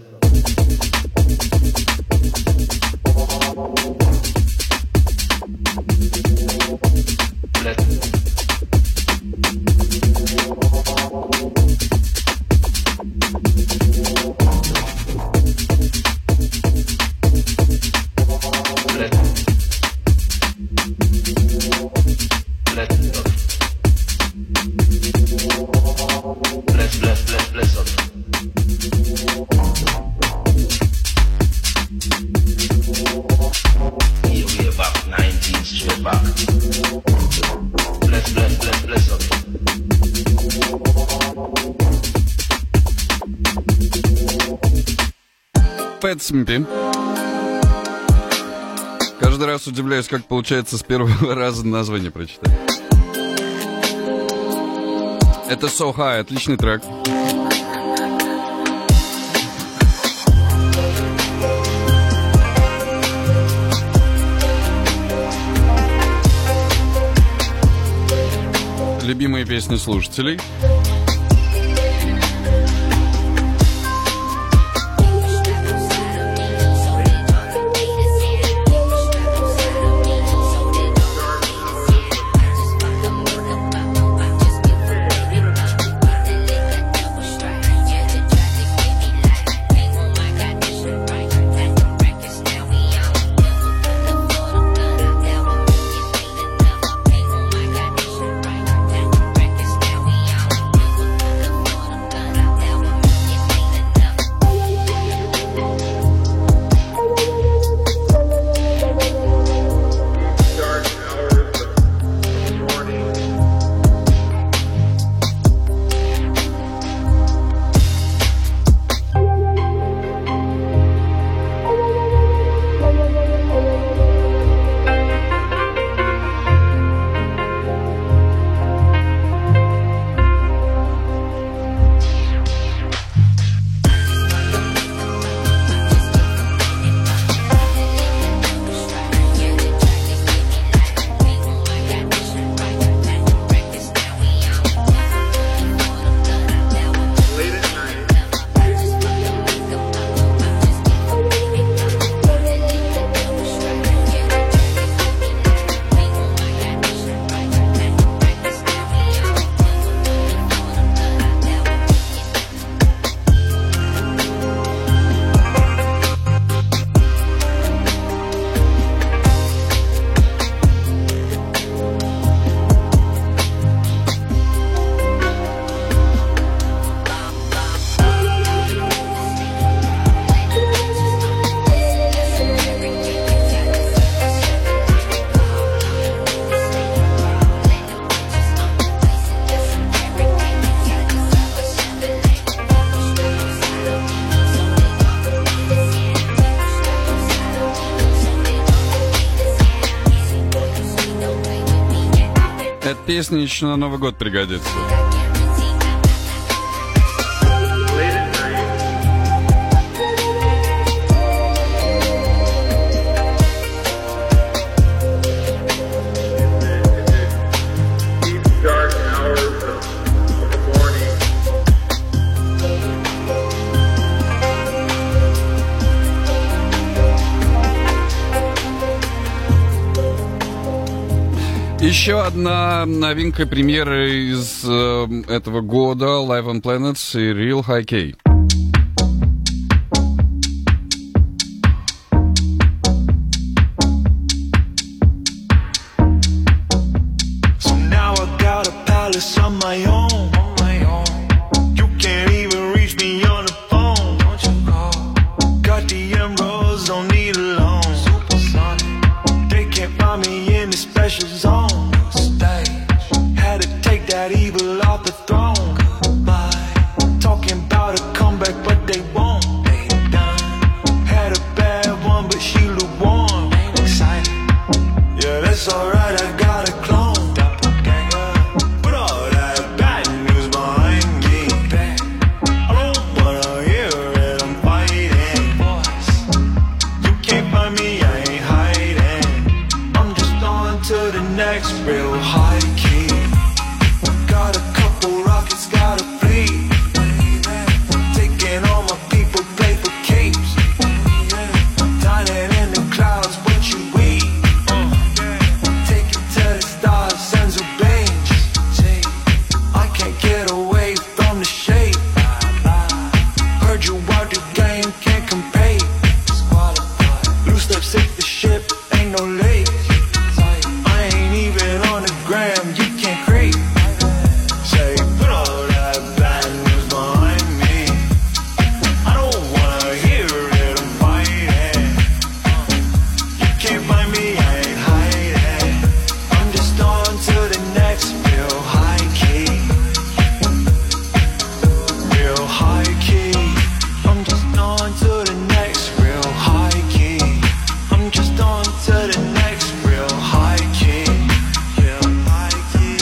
Пэтсмпи. Каждый раз удивляюсь, как получается с первого раза название прочитать. Это So High, отличный трек. Любимые песни слушателей. Now we on песня еще на Новый год пригодится. Еще одна новинка премьеры из э, этого года Live on Planets и Real High Key. So now I got a palace on my own. You can't even reach me on the phone. Got the emeralds, don't need a loan. They can't find me in the special zone. Had to take that evil off the throne. Talking about a comeback, but they won't. Had a bad one, but she lukewarm. Yeah, that's alright, I got a clone. Put all that bad news behind me. I don't wanna hear it, I'm fighting. You can't find me, I ain't hiding. I'm just on to the next real high key. Got a couple rockets, got a fleet. Taking all my people, play for keeps. Dining in the clouds, what you eat. Take it to the stars, sends a range. I can't get away from the shade. Heard you out the game, can't compete. Loose lips hit the ship, ain't no late. I ain't even on the gram, you can't creep. Say, put all that bad news behind me. I don't wanna hear it, I'm fighting. You can't find me, I ain't hiding. I'm just on to the next real high key. Real high key. I'm just on to the next real high key. I'm just on to the next real high key. Real high key.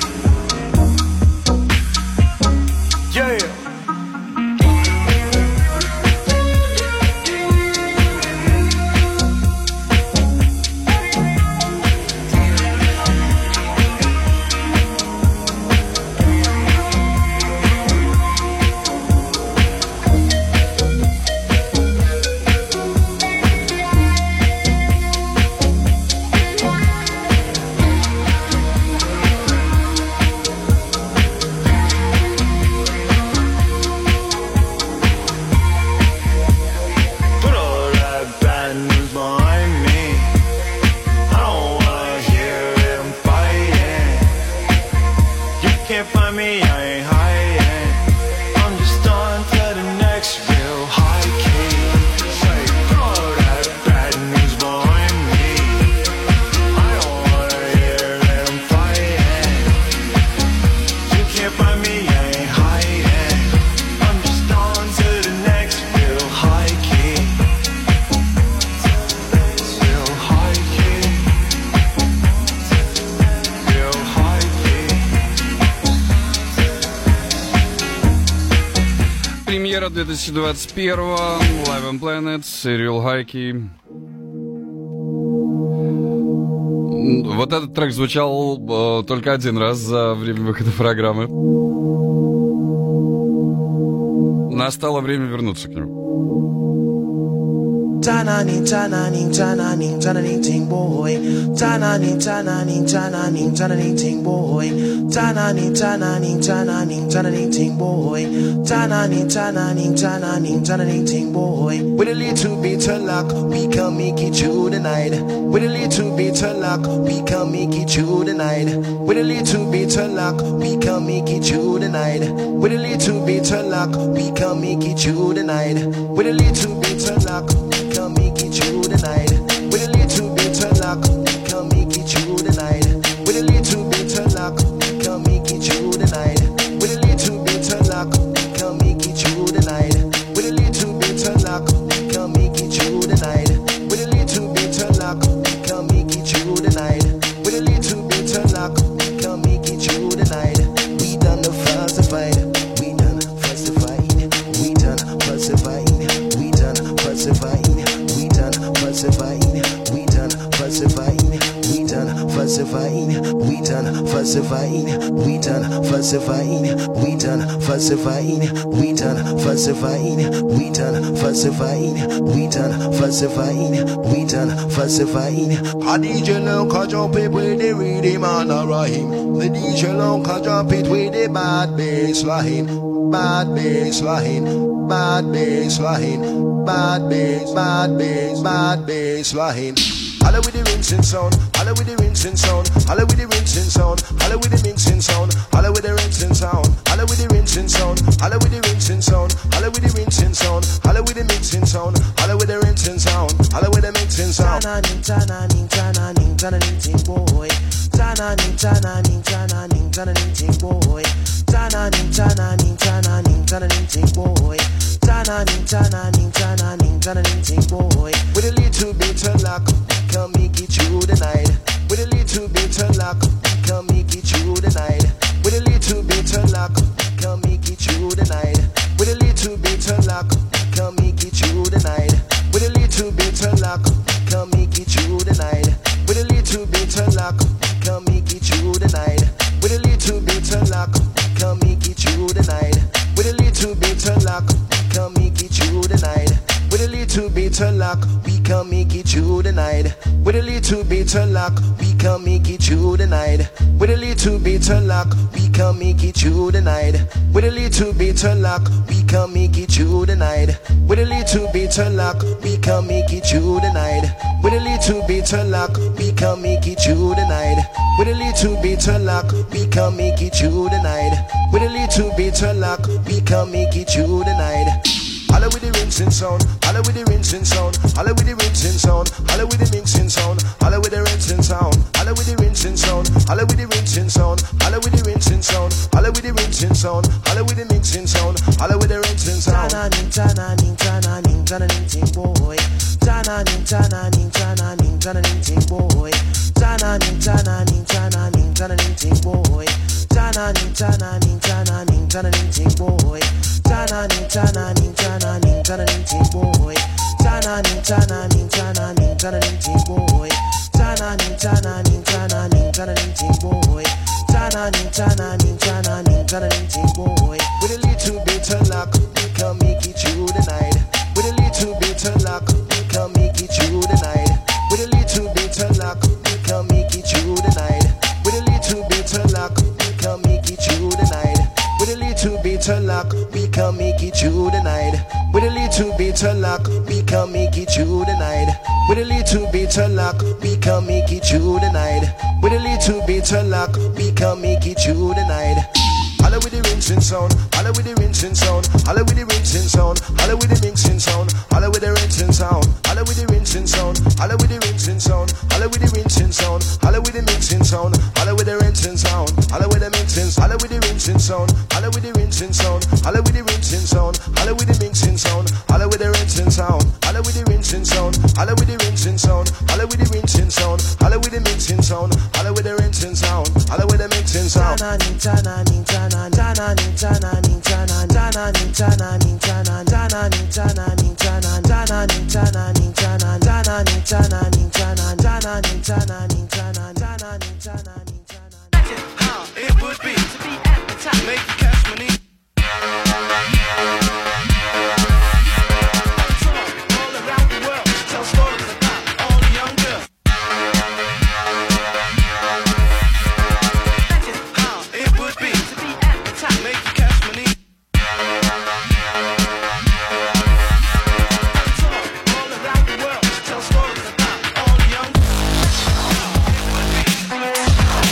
Yeah. Put all that bad news behind me. I don't wanna hear it, I'm fighting. You can't find me, I ain't hiding. I'm just on to the next real high key. Say, put all that bad news behind me. I don't wanna hear it, I'm fighting. You can't find me, I ain't hiding. I'm just on to the next real high key. Real high key. Real high key. Премьера две тысячи двадцать первого Live on Planets и Real High Key. Вот этот трек звучал э, только один раз за время выхода программы. Настало время вернуться к нему. Ta-na-ning, ta-na-ning, ta-na-ning, ta-na-ning, ting boy. Ta-na-ning, ta-na-ning, ta-na-ning, ta-na-ning, ting boy. Ta-na-ning, ta-na-ning, ta-na-ning, ta-na-ning, ting boy. Ta-na-ning, ta-na-ning, ta-na-ning, ta-na-ning, ting boy. With a little bit of luck, we can make it through the night. With a little bit of luck, we can make it through the night. With a little bit of luck, we can make it through the night. With a little bit of luck, we can make it through the night. With a little bit of luck, we can make it through the night. With a little bit of luck, we can make it through the night. With a little bit of luck, we can make it through the night. With a little bit of luck, we can make it through the night. With a little bit of luck, we can make it through the night. With a little bit of luck, we can make it through the night. With a little bit of luck, we can make it we done falsifying, we done falsifying, we done falsifying, we done falsifying, we done falsifying, we done falsifying. A D J long can jump it with the rhythm and a rhyme. The D J long can jump it with the bad bass line, bad bass line, bad bass line, bad bass, bad bass, bad bass line. Holla with the rinsing sound, holla with the rinsing sound, holla with the rinsing sound, holla with the mixing sound, holla with the rinsing sound, holla with the rinsing sound, holla with the rinsing sound, holla with the rinsing sound, holla with the mixing sound, holla with the rinsing sound, holla with the mixing sound. Tananing, tananing, tananing, tananing, ting boy. Tananing, tananing, tananing, tananing, ting boy. Tananing, tananing, tananing, tananing, ting boy. Tananing, tananing, tananing, tananing, ting boy. With a little bit of luck, come make it through the night. With a little bit of luck, come make it through the night. With a little bit of luck, come make it through the night. With a little bit of luck, come make it through the night. With a little bit of luck, come make it through the night. With a little bit of luck, come make it through the night. With a little bit of luck, come make it through the night. With a little bit of luck, come make it through the night. With a little bit of luck, we can make it through the night. With a little bit of luck, we can make it through the night. With a little bit of luck, we can make it through the night. With a little bit of luck, we can make it through the night. With a little bit of luck, we can make it through the night. With a little bit of luck, we can make it through the night. With a little bit of luck, we can make it through the night. With a little bit of luck, we can make it through the night. Holla with the rinsing sound, holla with the rinsing sound, holla with the rinsing sound, holla with the mixing sound, holla with the rinsing sound, holla with the rinsing sound, holla with the rinsing sound, holla with the rinsing sound, holla with the rinsing sound, holla with the mixing sound, holla with the rinsing sound. Tananing, tananing, tananing, tananing, ting boy. Tananing, tananing, tananing, tananing, ting boy. Tananing, tananing, tananing, tananing, ting boy. Tananing, tananing, tananing, tananing, ting boy. Tananing, tananing, tananing, tananing, ting boy. Tananing, tananing, tananing, tananing, ting boy. Tananing, tananing, tananing, tananing, ting boy. Tananing, tananing, tananing, tananing, ting boy. With a little bit of luck, we can make it through the night. With a little bit of luck, we can make it through the night. With a little bit of luck, we can make it through the night. With a little bit of luck, we can make it through the night. With a little bit of luck, we can make it through the night. With a little bit of luck, we can make it through the night. With a little bit of luck, we can make it through the night. With a little bit of luck, we can make it through the night. Holla with the rinsing sound, holla with the rinsing sound, holla with the rinsing sound, holla with the mixing sound, holla with the rinsing sound, holla with the rinsing sound, holla with the rinsing sound, holla with the rinsing sound, holla with the mixing sound, holla with the rinsing sound, holla with the mixing, holla with the rinsing sound, holla with the rinsing sound, holla with the rinsing sound, holla with the mixing sound, holla with the rinsing sound, holla with the rinsing sound, holla with the rinsing sound, holla with the rinsing sound, holla with the mixing sound, holla with the rinsing sound, holla with the mixing sound. Tananing, tananing, tananing. Tananing, tananing, tananing, tananing, tananing, tananing, tananing, tananing, tananing, tananing, tananing, tananing, tananing, tananing, tananing, tananing, tananing, tananing, tananing, tananing. How it would be to be at the top, make you cash money. All around the world, tell stories about all the young girls. How it would be to be at the top, make you cash money. All around the world, tell stories about all the young.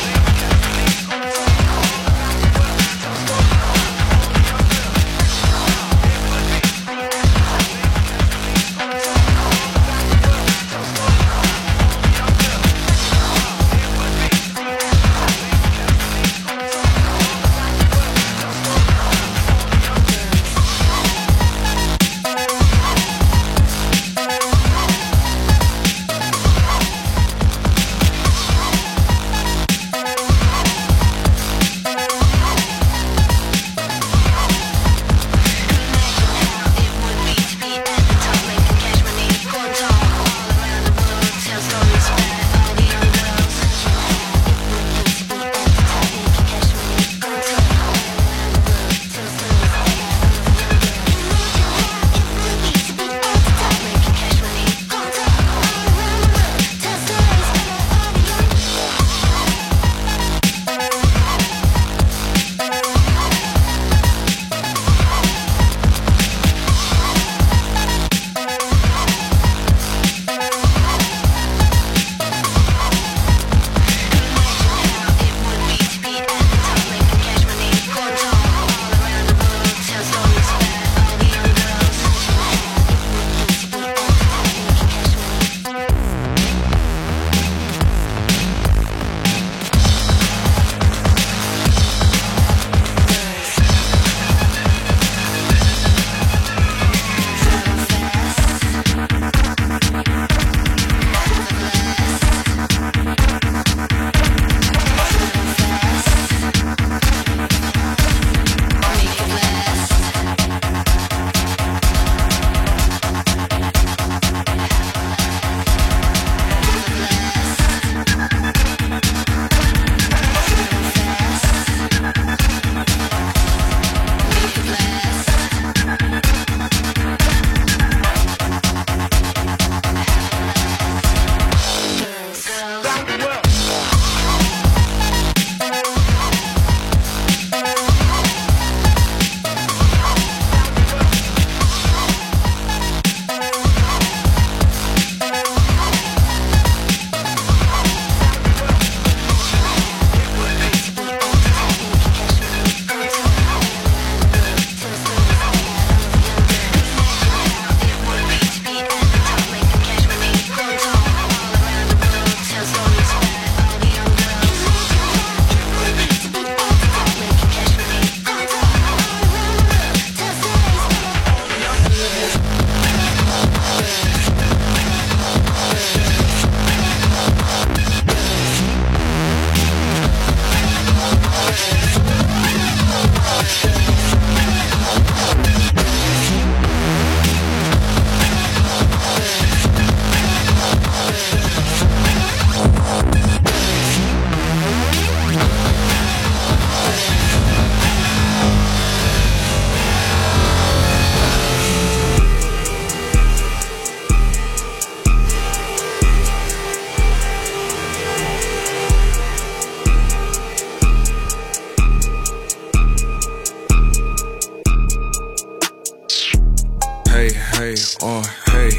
uh, hey,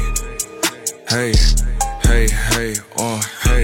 hey, hey, hey, uh, hey,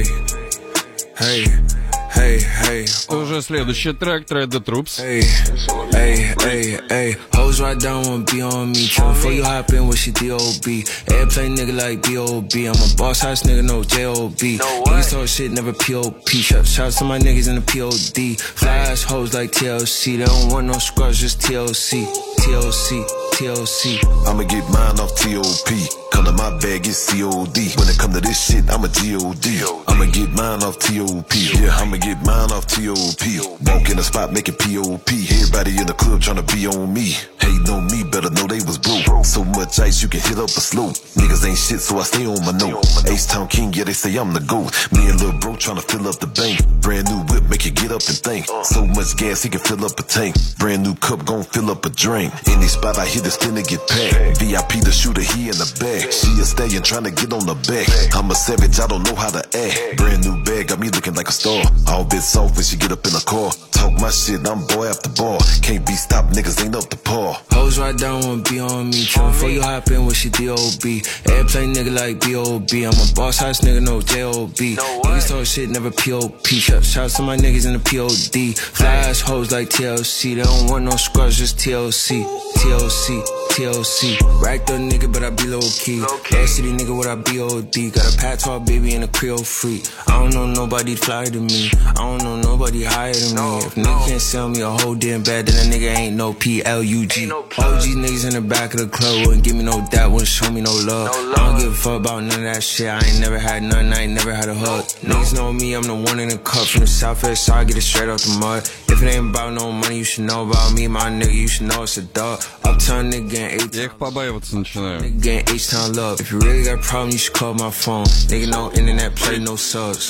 hey, hey, hey. Уже следующий трек, Tread the Troops. Hey, hey, hey, hey. Hoes right down wanna be on me. Tryna before you hop in with she D O B. Airplane nigga like B O B. I'm a boss house nigga, no J O B. Niggas talk shit, never P O P. Shout shout to my niggas in the P O D. Fly ass hoes like T L C. They don't want no scrubs, just T L C. T L C, T L C. I'ma get mine off T O P. Come to my bag, it's C O D. When it come to this shit, I'm a G O D. I'ma get mine off T O P. Yeah, I'ma get mine off T O P. Walk in the spot, making P O P. Everybody in the club tryna be on me. Hating on me, better know they was broke. So much ice, you can hit up a slope. Niggas ain't shit, so I stay on my note. H-Town King, yeah, they say I'm the GOAT. Me and Lil Bro tryna fill up the bank. Brand new whip, make you get up and think. So much gas, he can fill up a tank. Brand new cup, gon' fill up a drink. Any spot I hit, it's finna get packed. V I P the shooter, he in the back. She a stallion tryna get on the back. I'm a savage, I don't know how to act. Brand new bag, got me looking like a star. All bit soft when she get up in the car. Talk my shit, I'm boy after bar. Can't be stopped, niggas ain't up to par. Hoes right down wanna be on me. Tryna before you hop in with she D O B. Airplane nigga like B O B. I'm a boss house nigga, no J O B. Niggas talk shit, never P O P. Shout shout to my niggas in the P O D. Fly ass hoes like T L C. They don't want no scrubs, just T L C. T L C, T L C. Racked up nigga, but I be low key. Love City nigga, what I B O D. Got a patois baby and a Creole freak. I don't know nobody fly to me. I don't know nobody higher than me. If nigga can't sell me a whole damn bag, then a nigga ain't no P L U G. O G niggas in the back of the club wouldn't give me no that, wouldn't show me no love. I don't give a fuck about none of that shit. I ain't never had none, I ain't never had a hug. Niggas know me, I'm the one in the cup from the southwest side, get it straight off the mud. If it ain't about no money, you should know about me, my nigga, you should know it's a dog. Uptown nigga getting H. Я их побаиваться начинаю. Nigga getting H-Town love. If you really got a problem, you should call my phone. Nigga, no internet play, no subs.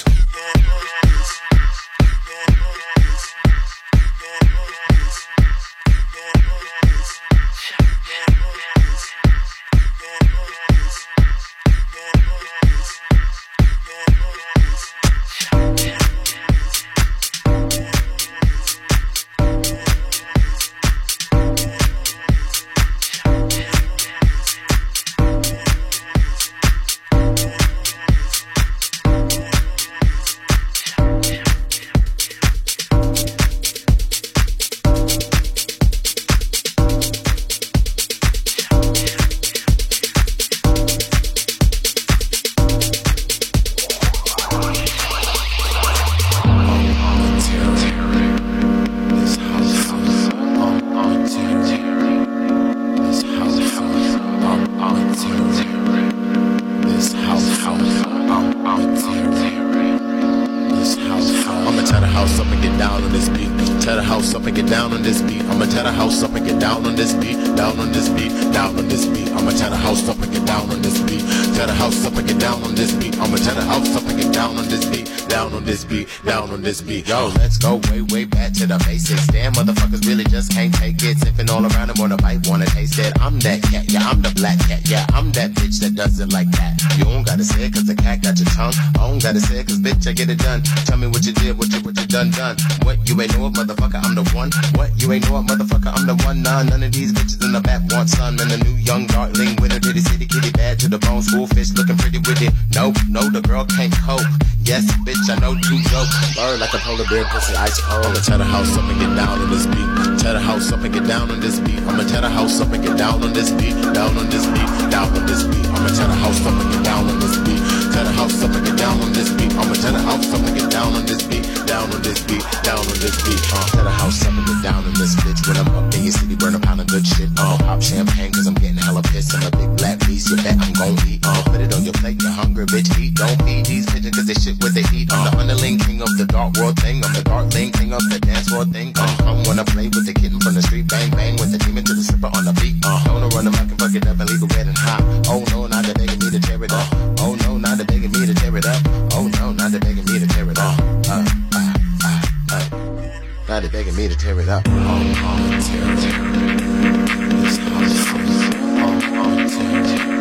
Yo, let's go way, way back to the basics. Damn, motherfuckers really just can't take it. Sipping all around them on a bite, wanna taste it. I'm that cat, yeah, I'm the black cat. Yeah, I'm that bitch that does it like that. You don't gotta say it cause the cat got your tongue. I don't gotta say it cause bitch, I get it done. Tell me what you did, what you, what you done, done. What, you ain't know it, motherfucker, I'm the one. What, you ain't know it, motherfucker, I'm the one. Nah, none of these bitches in the back want some. And the new young darling winner to the city, kitty bad to the bone. School fish looking pretty with it. Nope, no, the girl can't cope. Yes, bitch, I know two jokes. Bird like a polar bear, pussy ice cold. I'ma tear the house up and get down on this beat. Tear the house up and get down on this beat. I'ma tear the house up and get down on this beat. Down on this beat, down on this beat. I'ma tear the house up and get down on this beat. Tear the house up and get down on this beat. I'ma tear the house up and get down on this beat. Down on this beat, down on this beat. Uh, tear the house up and get down on this bitch. When I'm up in your city, burn a pound of good shit. Uh, pop champagne cause I'm getting hella pissed. I'm a big black beast, you bet I'm gon' eat. Uh, put it on your plate, you're hungry, bitch, eat. Don't feed these pigeons cause they shit what they eat. I'm the underling king of the dark world thing. I'm the dark lane king of the dance floor thing. Uh, I'm wanna play with the kitten from the street. Bang, bang with the demon to the slipper on the beat. Uh, don't run them, I can fuck it up and leave it wet and hot. Oh no, now they're begging me to tear it up. Oh no, now they're begging me to tear it up. Oh no, now they're begging me to tear it up. Uh, uh, uh, uh. Now they're begging me to tear it up. Oh, oh, tear it, tear it. This house is oh, oh, tear it, tear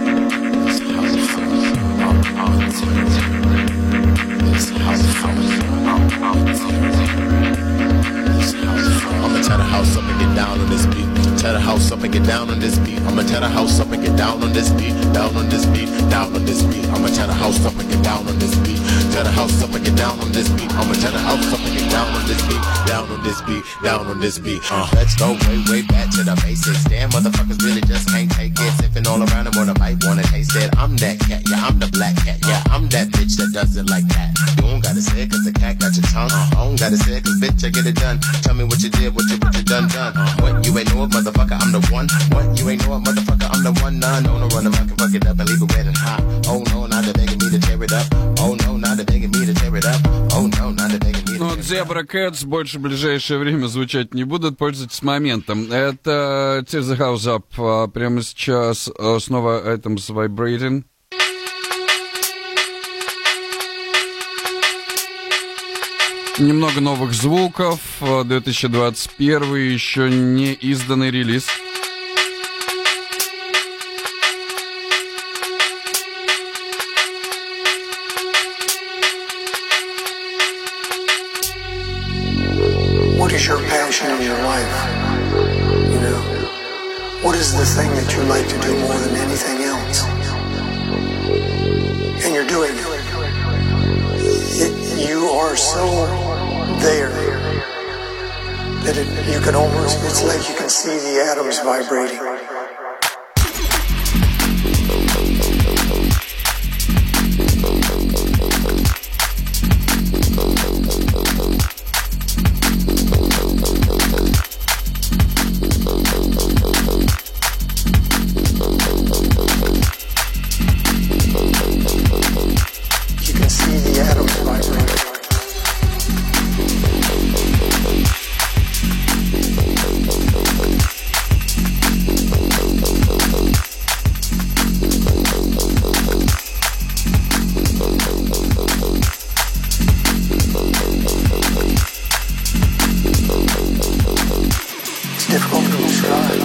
it. This house is oh, oh, tear it, tear it. This house is oh, oh, tear it, tear it. This house is I'ma tear the house up and get down on this beat. tear the house up and get down on this beat. I'ma tear the house up and get down on this beat. Down on this beat, down on this beat. I'ma tear the house up and get down on this beat. Tear the house up and get down on this beat. I'ma tear the house up and get down on this beat. Down on this beat, down on this beat. Uh, let's go way, way back to the basics. Damn, motherfuckers really just can't take it. Sipping all around and wanna bite, wanna taste it. I'm that cat, yeah, I'm the black cat, yeah, I'm that bitch that does it like that. You don't gotta say it cause the cat got your tongue. I don't gotta say it cause bitch, I get it done. Tell me what you did, what you, what you done, done. What, you ain't know it, motherfucker, I'm the one. What, you ain't know it, motherfucker, I'm the one. Nah, no, no, run them, I can fuck it up and leave it wet and hot. Oh no, now they're begging me to tear it up. Oh no, now they're begging me to tear it up. Oh no, now they're begging me to tear it up. Ну, Zebra Cats больше в ближайшее время звучать не будут, пользуйтесь моментом. Это Tear the House Up. Прямо сейчас снова Atoms Vibrating. Немного новых звуков. две тысячи двадцать первый, еще не изданный релиз. What is your passion in your life? You know, what is the thing that you like to do more than anything else? And you're doing it. it you are so there that it, you can almost, it's like you can see the atoms vibrating. You can see the atoms vibrating. It's difficult to describe.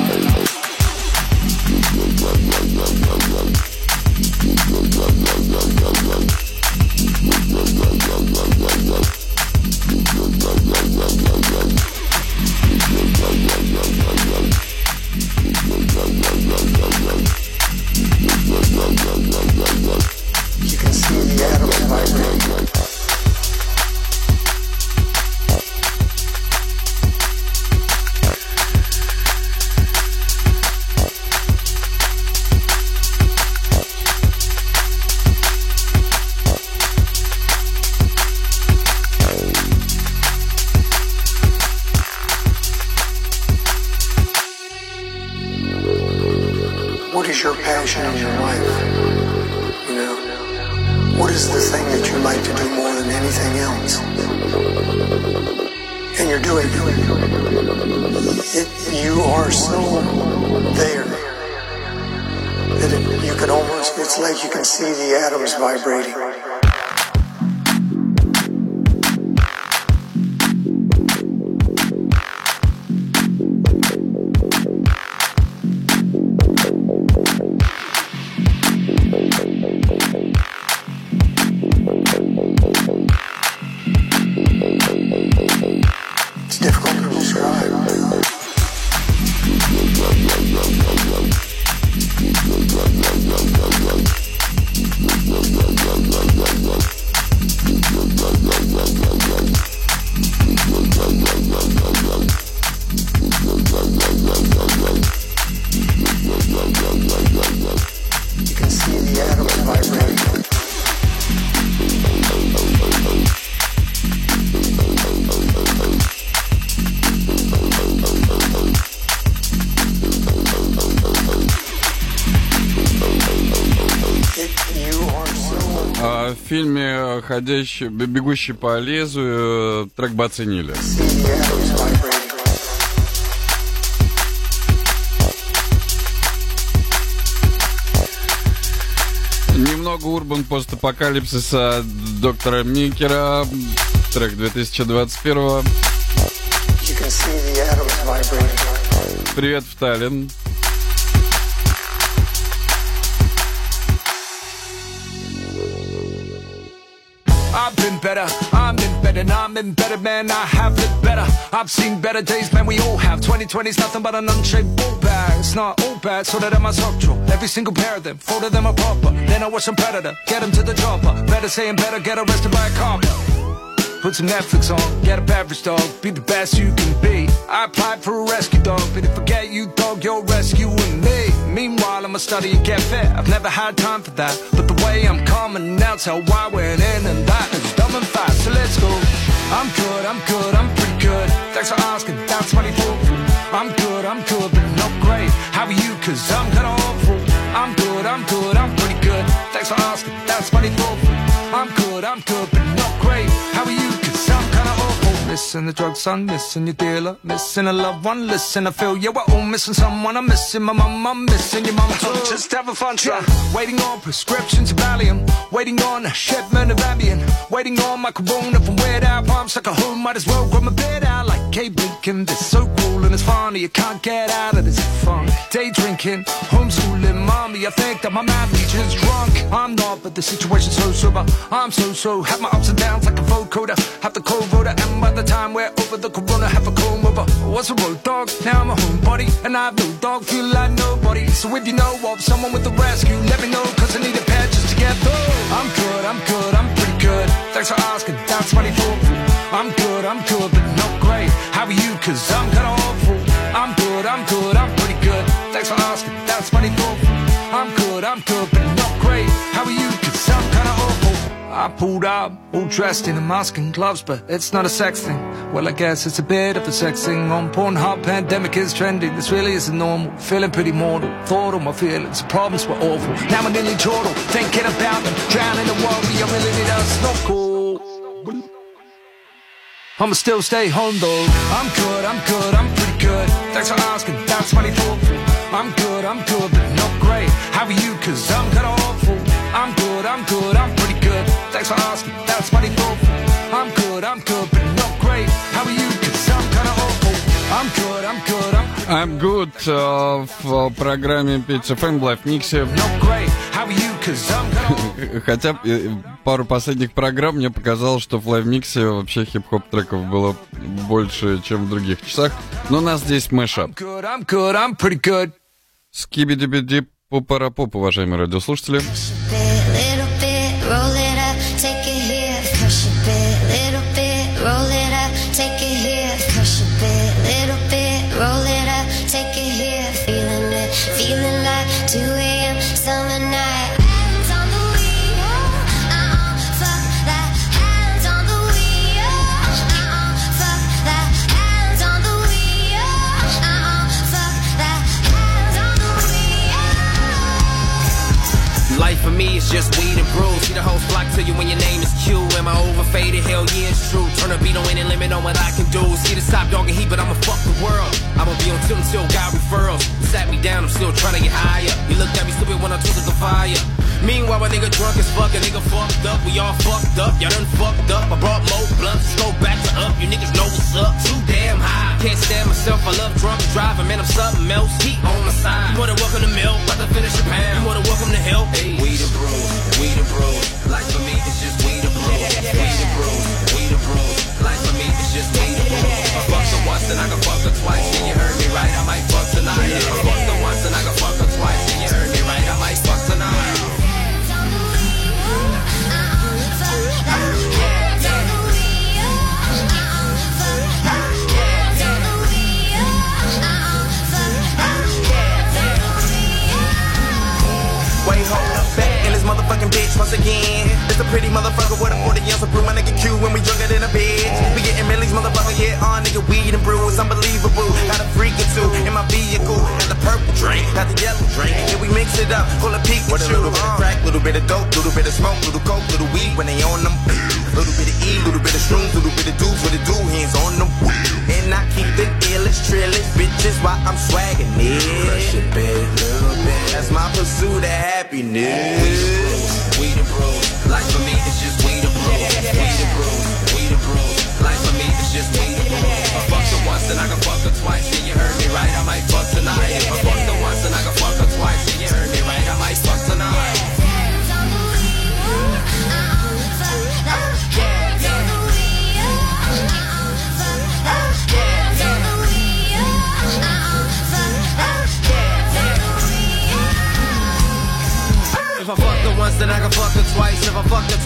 You can see the atoms vibrating. What is your passion in your life? You know, what is the thing that you like to do more than anything else? And you're doing it. it you are so there that it, you can almost, it's like you can see the atoms vibrating. It's difficult to describe. You can see the atoms vibrating. В фильме «Ходящий, бегущий по лезвию» трек бы оценили. Немного урбан постапокалипсиса доктора Микера, трек две тысячи двадцать первого. Привет в Таллин. I've been better, I'm in better bed and I'm in better, man, I have it better. I've seen better days, man, we all have. twenty twenty's nothing but an unshaped ball bag. It's not all bad, so that I'm a sock drawer. Every single pair of them, four of them are proper. Then I watch some Predator, get them to the chopper. Better saying better, get arrested by a cop. Put some Netflix on, get up average, dog. Be the best you can be. I applied for a rescue dog, but if I get you, dog, you're rescuing me. Meanwhile, I'ma study and get fit. I've never had time for that, but the way I'm coming now, tell why I went in and that is dumb and fast. So let's go. I'm good, I'm good, I'm pretty good. Thanks for asking, that's twenty-four. I'm good, I'm good, but not great. How are you? Cause I'm kinda awful. I'm good, I'm good, I'm pretty good. Thanks for asking, that's twenty-four. I'm good, I'm good, but not great. How are you? Cause I'm kinda awful. Missing the drug son, missing your dealer, missing a loved one. Listen, I feel yeah, we're all missing someone. I'm missing my mum, I'm missing your mum too. Just have a fun try. Waiting on prescriptions of Valium, waiting on a shipment of Ambien, waiting on my corona from Weird Al. Palms like a home, might as well grab my bed out like Kate Blinken. It's so cool and it's funny, you can't get out of this funk. Day drinking, homeschooling, mommy, I think that my math teacher's drunk. I'm not, but the situation's so sober. I'm so so, have my ups and downs like a vocoder. Have the cold voter, and by the time we're over the corona, have a comb over. Was a road dog, now I'm a homebody, and I have no dog, feel like nobody. So if you know of someone with a rescue, let me know, cause I need a pet just to get through. I'm good, I'm good, I'm pretty good. Thanks for asking, that's twenty-four. I'm good, I'm good, but not great. How are you? Cause I'm kinda awful. I'm good, I'm good, I'm pretty good. Thanks for asking, that's twenty-four. I'm good, I'm good, but not great. How are you? Cause I'm kinda awful. I pulled up, all dressed in a mask and gloves, but it's not a sex thing. Well, I guess it's a bit of a sex thing. On Pornhub, pandemic is trending. This really isn't normal. Feeling pretty mortal. Thought all my feelings, problems were awful. Now I'm nearly chortle, thinking about them. Drowning in the world, we I really need a snorkel. I'ma still stay home though. I'm good, I'm good, I'm pretty good. Thanks for asking, that's twenty-four. I'm good, I'm good, but not great. How are you? Cause I'm kinda awful. I'm good, I'm good, I'm pretty good. Thanks for asking, that's twenty-four. I'm good, I'm good, but not great. How are you? Cause I'm kinda awful. I'm good, I'm good, I'm I'm good uh, в программе пять эф эм в лайв-миксе. Not great. How are you? Cause I'm kinda... Хотя пару последних программ мне показалось, что в лайв-миксе вообще хип-хоп треков было больше, чем в других часах. Но у нас здесь мэшап. Скибиди-биди пупара-пуп, уважаемые радиослушатели. Life for me is just weed and brews. See the whole flock to you when your name is Q. Am I overfaded? Hell yeah, it's true. Turn a beat on any limit on what I can do. See the top dog and heat, but I'ma fuck the world. I'ma be on tilt until God referrals. You sat me down, I'm still trying to get higher. You looked at me stupid when I took the fire. Meanwhile, a nigga drunk as fuck, a nigga fucked up. We all fucked up, y'all done fucked up. I brought more blunts, let's go back to up. You niggas know what's up, too damn high. Can't stand myself, I love drunk driving. Man, I'm something else, heat on my side. You wanna welcome to milk, about to finish your pound. You wanna welcome to help? Hey. Weed and brews, weed and brews. Life for me, it's just weed and brews. Weed and brews, weed and brews. Life for me, it's just weed and brews. I fucked her once, then I can fuck her twice. And you heard me right, I might fuck tonight. I fucked her once, then I can fuck her twice. And you heard me right, I might fuck tonight. Wait, hold up, back in this motherfucking bitch once again. It's a pretty motherfucker with a forty ounce of brew. My nigga Q when we drunker than a bitch. We getting millies, motherfucker, yeah, all nigga weed and brew. It's unbelievable. Got a freak or two in my vehicle. Got the purple drink, got the yellow drink. And we mix it up, full of Pikachu. With a little bit of crack, little bit of dope, little bit of smoke, little coke, little weed when they on them. Little bit of E, little bit of shrooms, little bit of dudes with the do hands on them. And I keep it illest, trillest, bitches while I'm swagging it. Crush it, big little bit. That's my pursuit of happiness. Weed and brews, life for me it's just weed and brews. Weed and brews, weed and brews. Life for me it's just weed and brews. I fucked her once, then I can fuck her twice. And you heard me right, I might fuck tonight. If I fucked her once, then I can fuck her twice. And you heard me right, I might fuck tonight.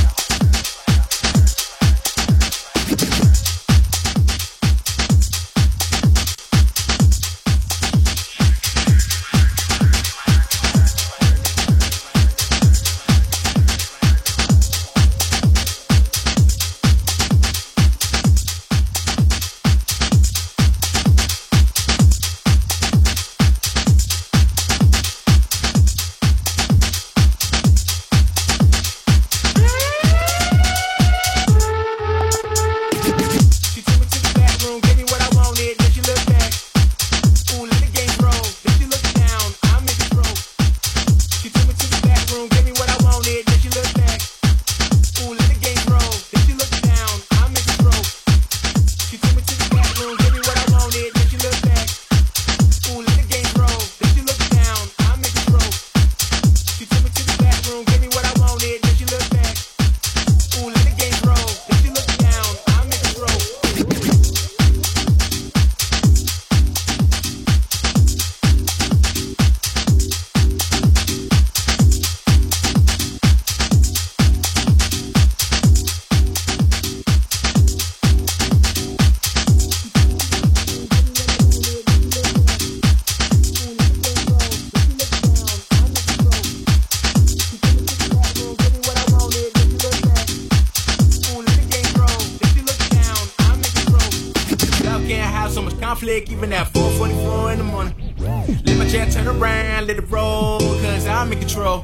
conflict, even at four forty-four in the morning. Let my chair turn around, let it roll, cause I'm in control.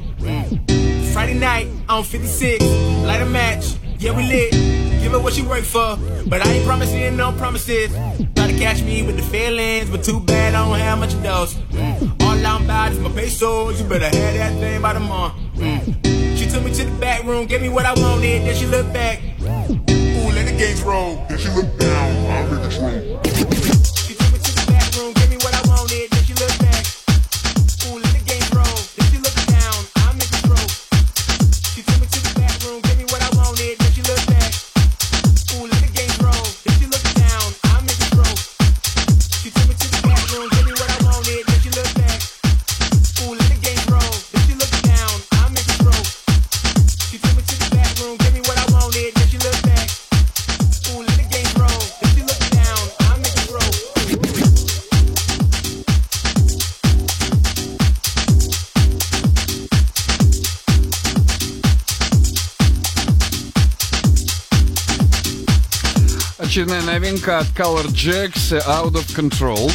Mm. Friday night on fifty-six, light a match, yeah we lit. Give her what she worked for, but I ain't promising no promises. Try to catch me with the feelings, but too bad I don't have much of those. Mm. All I'm about is my pesos, you better have that thing by tomorrow. Mm. She took me to the back room, gave me what I wanted, then she looked back. Ooh, let the games roll, then she looked down, I'm in control. She took me to the back room, gave me what I wanted, then she looked back. Ooh, let the games roll, then she looked down, I'm in control. She took me to the back room, gave me what I wanted, then she looked back. Ooh, let the games roll, then she looked down, I'm in control. She took me to the back room, gave me what I wanted, then she looked back. Ooh, let the games roll, then she looked down, I'm in control. She took me to the back room, gave me what I wanted, then she looked back. Ooh, let the games roll, then she looked down, I'm in control. Очередная новинка от Color Jacks, Out of Control.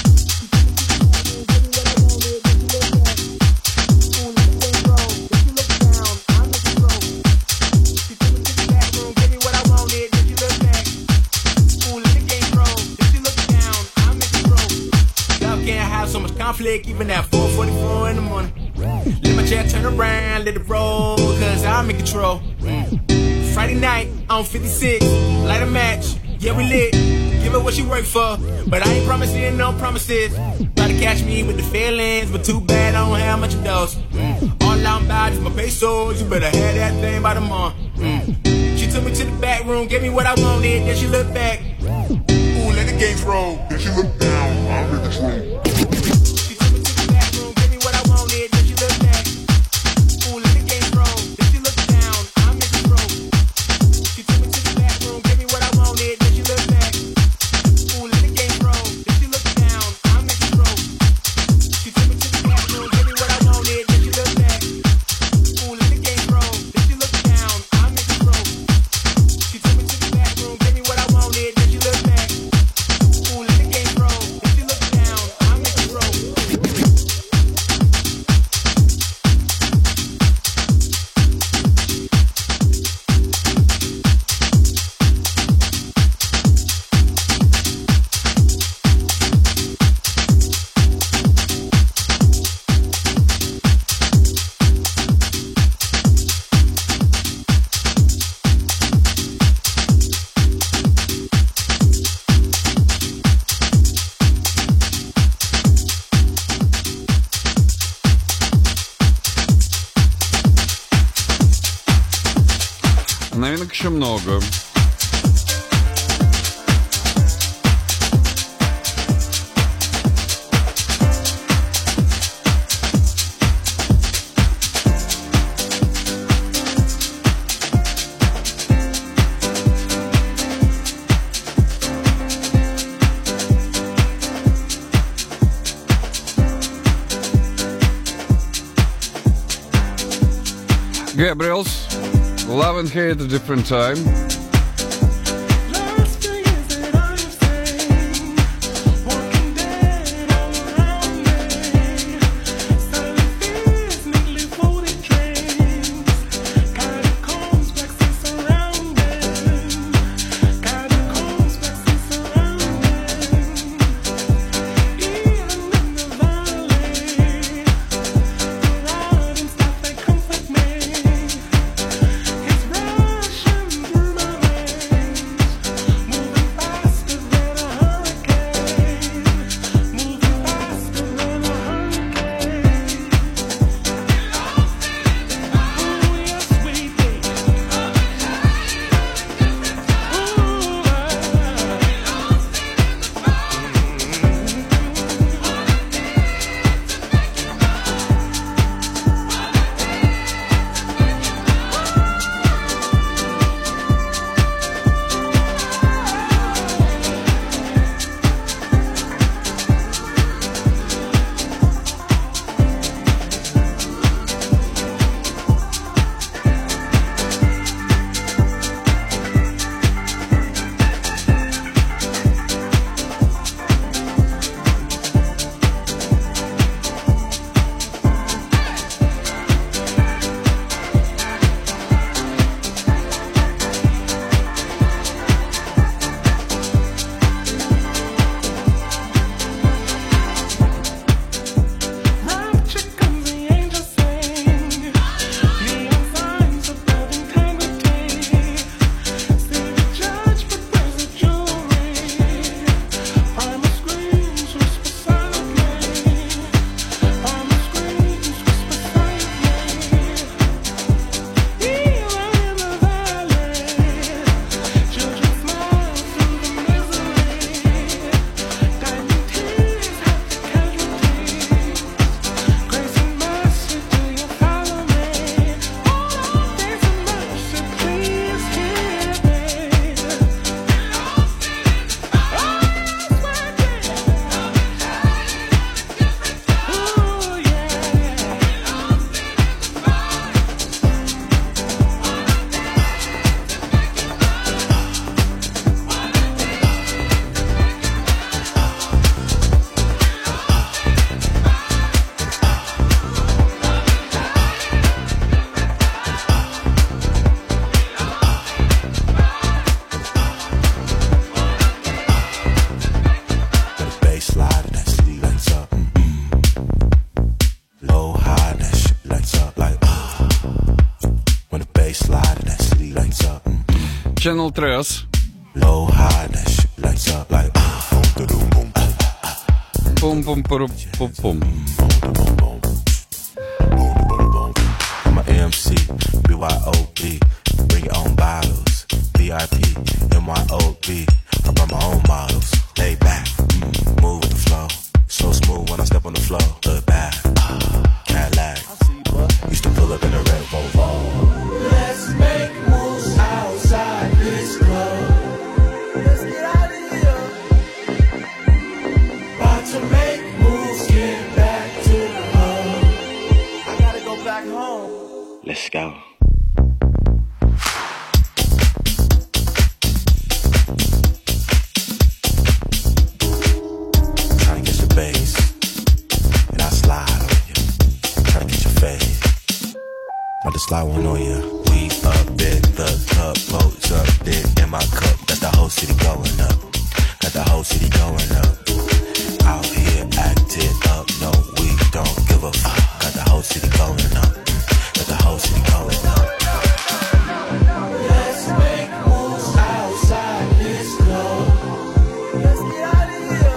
Conflict, even at four forty-four in the morning. Let my chair turn around, let it roll, cause I'm in control. Mm. Friday night on fifty-six, light a match, yeah we lit. Give her what she worked for, but I ain't promising no promises. Try to catch me with the feelings, but too bad I don't have much of those. Mm. All I'm about is my pesos, you better have that thing by tomorrow. Mm. She took me to the back room, gave me what I wanted, then she looked back. Ooh, let the games roll, then she looked down, I'm in control. Ooh, let the games Новинок еще много. Gabriel's Love and Hate at a Different Time. Channel Tres. Low high, that shit lights up like Pum pum pum pum pum. I'm a M C, B Y O B. Bring your own bottles. V I P, M Y O B. I brought my own models. Lay back, mm, move with the flow. So smooth when I step on the floor. Look back, Cadillac. Used to pull up in a red Volvo. Let's make moves outside this club. Let's get out of here. About to make moves, get back to the hub. I gotta go back home. Let's go. Try to get your bass, and I slide on you. Try to get your face, but the slide won't on you. We up in the club, boats up there in my cup. Got the whole city going up. Got the whole city going up. Out here acting up, no, we don't give a fuck. Got the whole city going up. Got the whole city going up. Let's make moves outside this club. Let's get out of here.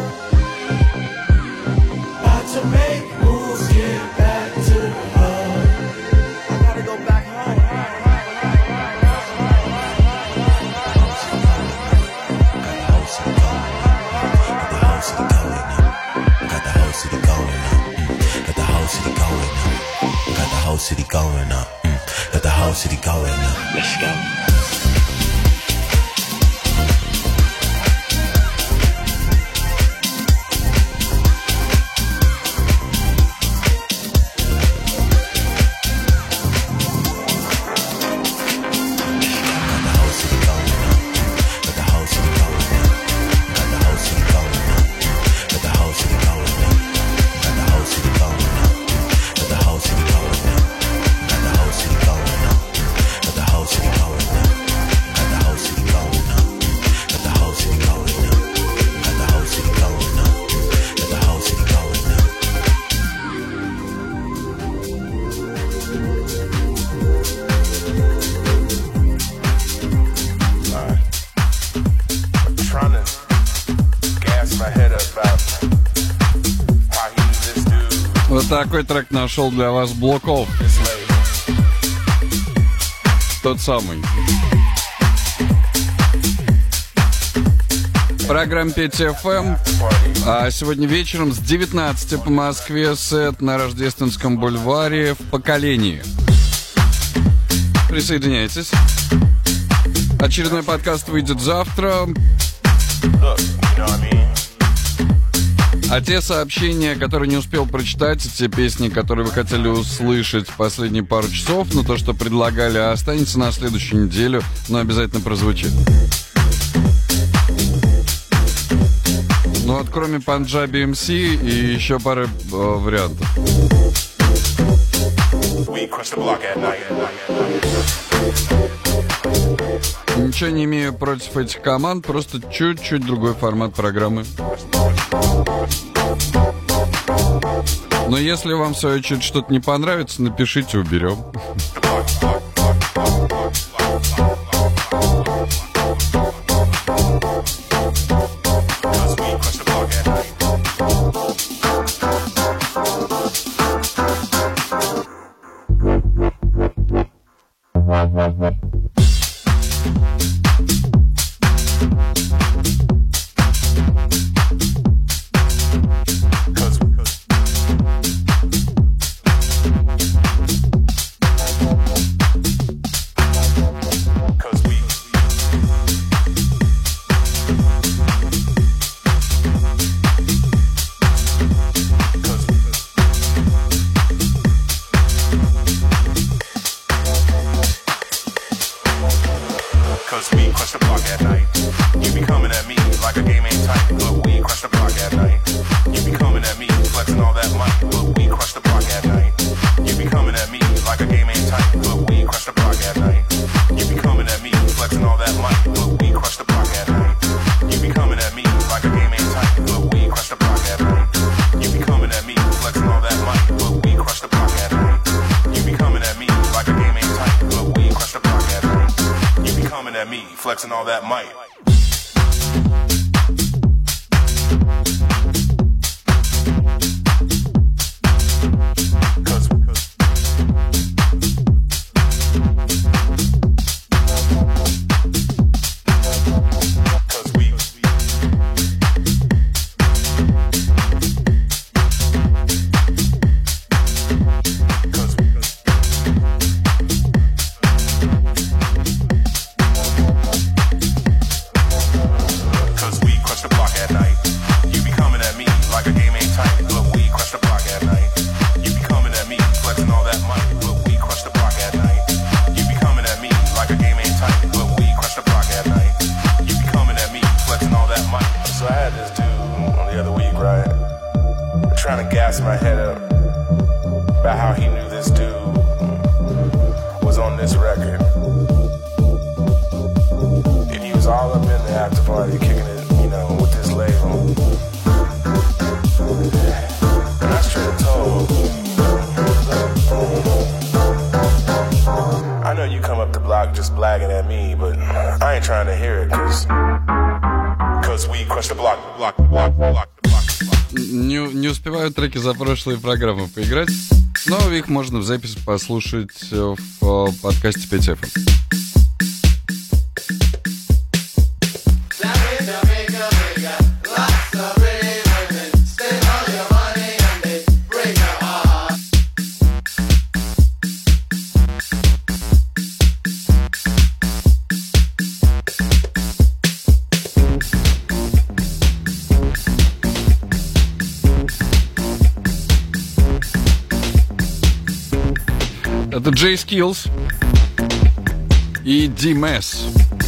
About to make moves, get back to the hub. I gotta go back home. going up. Mm. Got the whole city going up. Let's go. Вот такой трек нашел для вас Блоков. Тот самый. Программа пять эф эм. А сегодня вечером с девятнадцати по Москве сет на Рождественском бульваре в Поколении. Присоединяйтесь. Очередной подкаст выйдет завтра. А те сообщения, которые не успел прочитать, те песни, которые вы хотели услышать последние пару часов, ну то, что предлагали, останется на следующую неделю, но обязательно прозвучит. Ну вот кроме Punjabi эм си и еще пары э, вариантов. Ничего не имею против этих команд, просто чуть-чуть другой формат программы. Но если вам, в свою очередь, что-то не понравится, напишите, уберем. Flexing all that might. Не, не успеваю треки за прошлые программы поиграть, но их можно в записи послушать в подкасте пять эф эм. Это Jay Skills и D-Mess.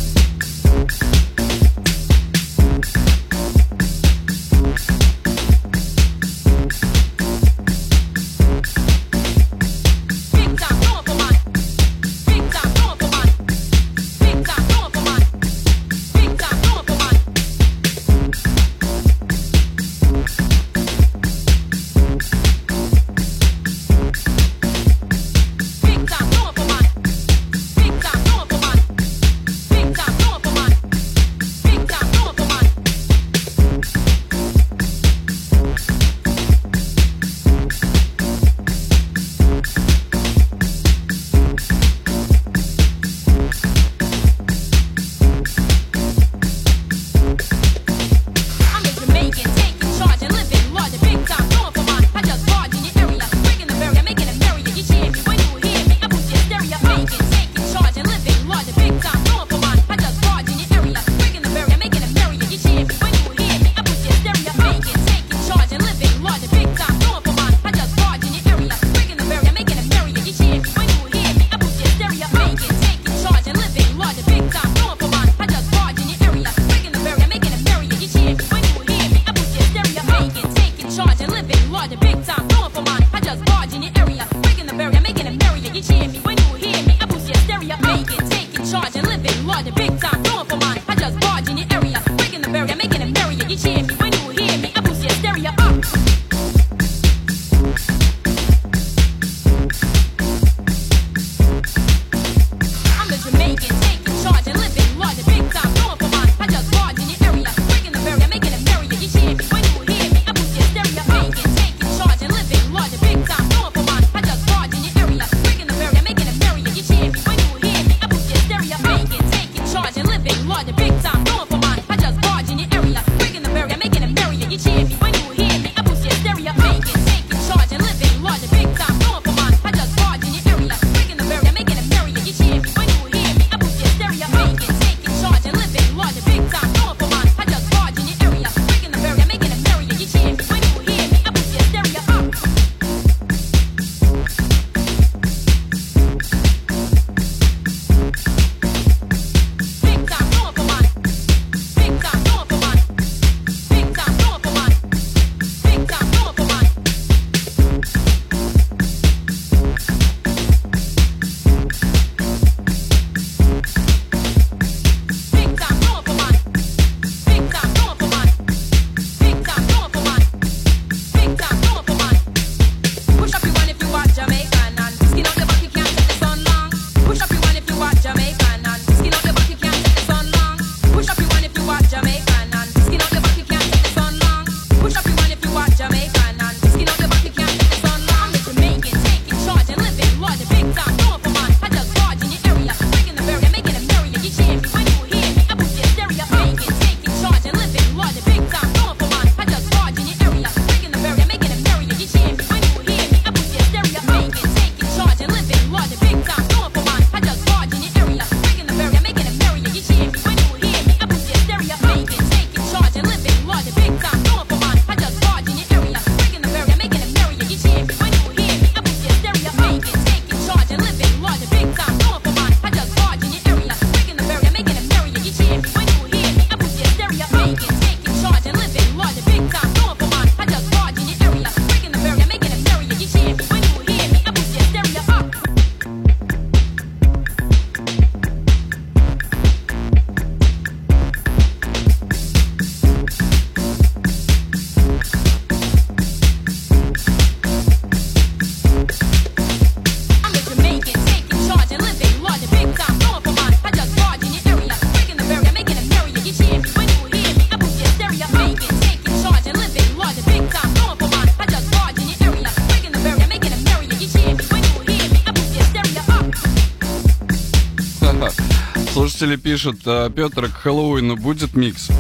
Слушатели пишут, а, Петр, к Хэллоуину будет микс?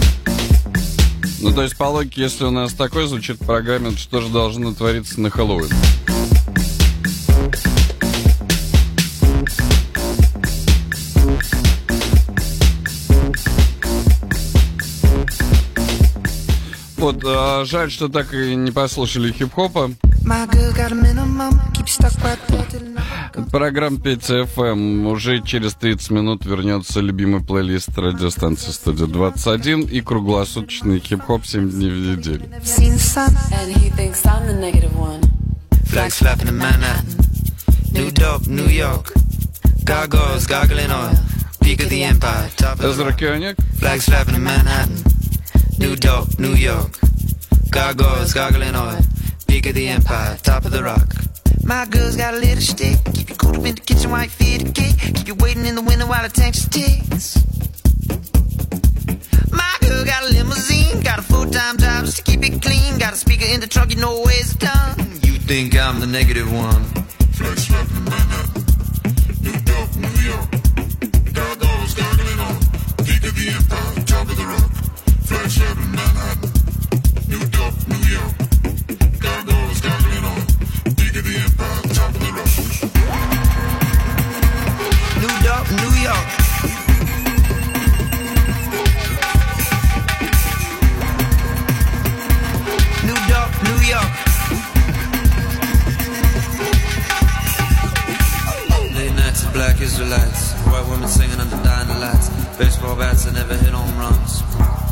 Ну, то есть, по логике, если у нас такой звучит в программе, то что же должно твориться на Хэллоуин? Вот, а, жаль, что так и не послушали хип-хопа. My girl got a minimum, keep stuck right there till now. Программа Петя эф эм. Уже через тридцать минут вернется любимый плейлист радиостанции Студия двадцать один и круглосуточный хип-хоп семь дней в неделю. And he thinks I'm the negative one. Flag slapping in Manhattan. New dope, New York. Gargoyles gargling oil. Peak of the empire, top of the rock. Flag slapping in Manhattan. New dope, New York. Gargoyles gargling oil. Peak of the empire, top of the rock. My girl's got a little stick. Keep you cool up in the kitchen while you feed the cake. Keep you waiting in the window while the tank ticks. My girl got a limousine. Got a full-time job just to keep it clean. Got a speaker in the trunk, you know where it's done. You think I'm the negative one. Flag slapping in Manhattan. New dope, New York. Gargoyles gargling on. Peak of the empire, top of the rock. Flag slapping in Manhattan. New dope, New York. Gargoyles gargling on. Peak of the empire, top of the rock. New dope, New York. New dope, New York. Late nights of black Israelites. White women singing under dying lights. Baseball bats that never hit home runs.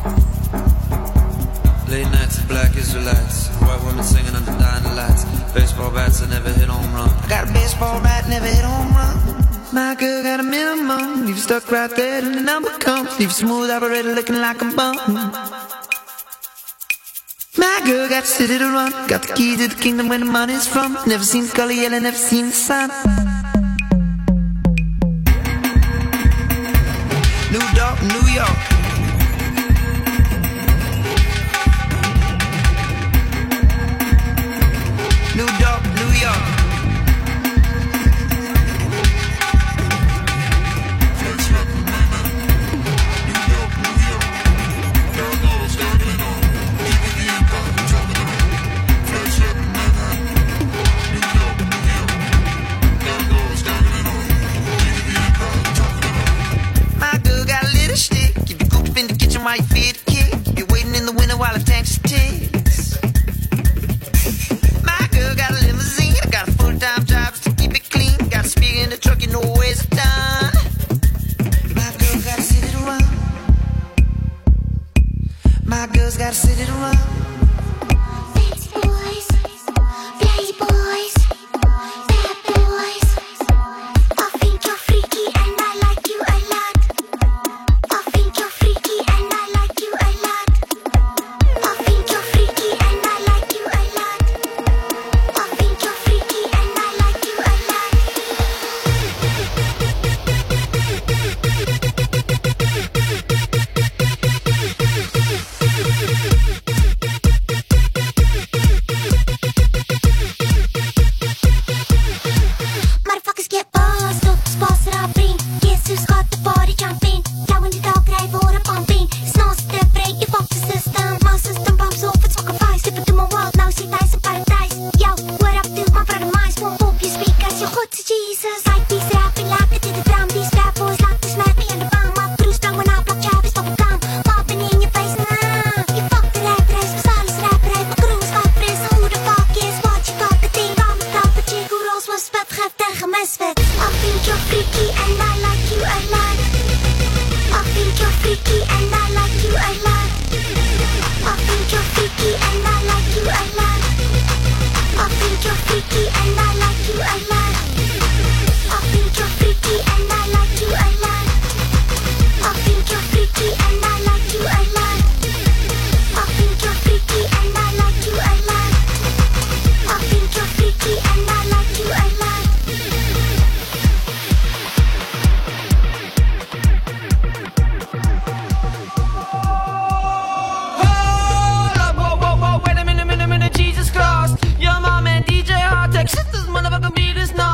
Late nights of black Israelites. White women singing under dying lights. Baseball bats that never hit home run. I got a baseball bat, never hit home run. My girl got a minimum. Leave you stuck right there till the number comes. Leave you smooth operator looking like a bum. My girl got the city to run. Got the key to the kingdom where the money's from. Never seen the color yellow, never seen the sun. New York, New York. New York, New York. My girl got a little stick. Keep you cooped up in the kitchen while you feed the kid. Keep you waiting in the window while the tank just ticks. My girl got a limousine. I got a full-time job just to keep it clean. Got a speaker in the truck, you know where it's done. My girl got a city to run. My girl's got a city to run. Fancy boys, lazy boys, bad boys. I think you're freaky and I like you a lot. I think you're freaky and I like you a lot. I think you're freaky and I like you a lot. I think you're freaky and I like you a lot. Motherfuckers get buzzed up, spasser av bring. Jesus skötte body jumping. Going to dog grej våra pumping. Snart det break i pop system. My system pumps off it's sacrifice. If I do my world now see nice in paradise. Yo, what up dude, my brother minds won't pop your speakers. Jag skjuts till Jesus. Like these rapping, like it to the drum. These bad boys like to smack me in the bum. My crew sprang when I blocked Travis off a gun. Popping in your face, nah. You fuck the rap race, Salis rap race. My crew is up race. Who the fuck is what you got? The thing I'm a top of chick who rolls was vet. Geeft tegen mesvet. I think you're freaky and I like you a lot. I think you're freaky and I like you a lot. I think you're freaky and I like you a lot. I think you're freaky and I like you a lot. I think you're freaky and I like you a lot. I think you're freaky and I like you a lot. I think you're freaky and I like you a lot. I think you're freaky and I like you a lot. Hold up, whoa, whoa, whoa, wait a minute, minute, minute, Jesus Christ. Your mom and D J Hardtech, shit, this motherfucker beat is not.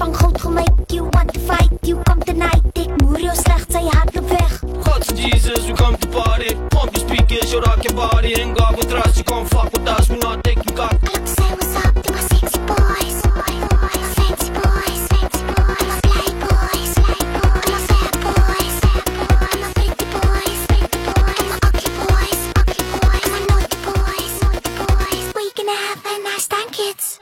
van goud gemaak. You want to fight, you come tonight. Ik moer jou slecht, zij hart op weg. God's Jesus, we come to party. Pump your speakers, you rock your body. Ain't God with us, you come fuck with us, we not taking cock. Look, say what's up to my sexy boys. Fancy boys, fancy boys. My play boys, play boys. My fat boys, fat boys. My pretty boys, pretty boys. My ugly boys, ugly boys. My naughty boys, naughty boys. We gonna have a nice time, kids.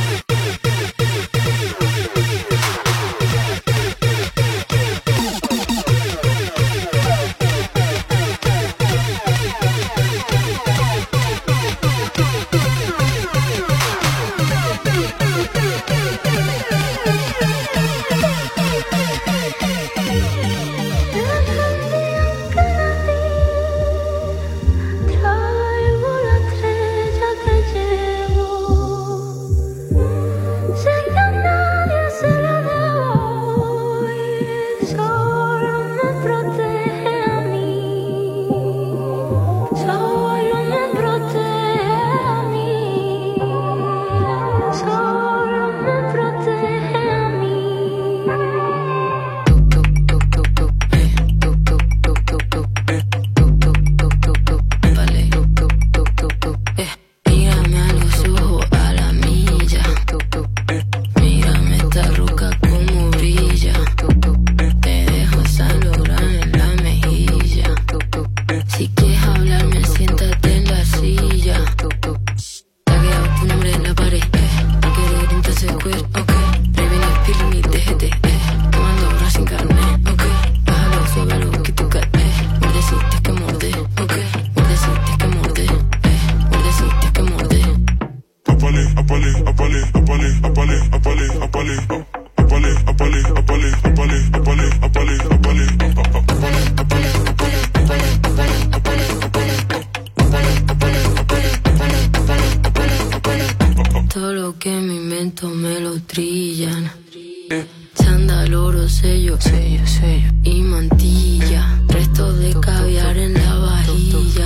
Todo lo que me invento me lo trillan. Chándal, oro, sello, sello, sello y mantilla. Resto de caviar en la vajilla.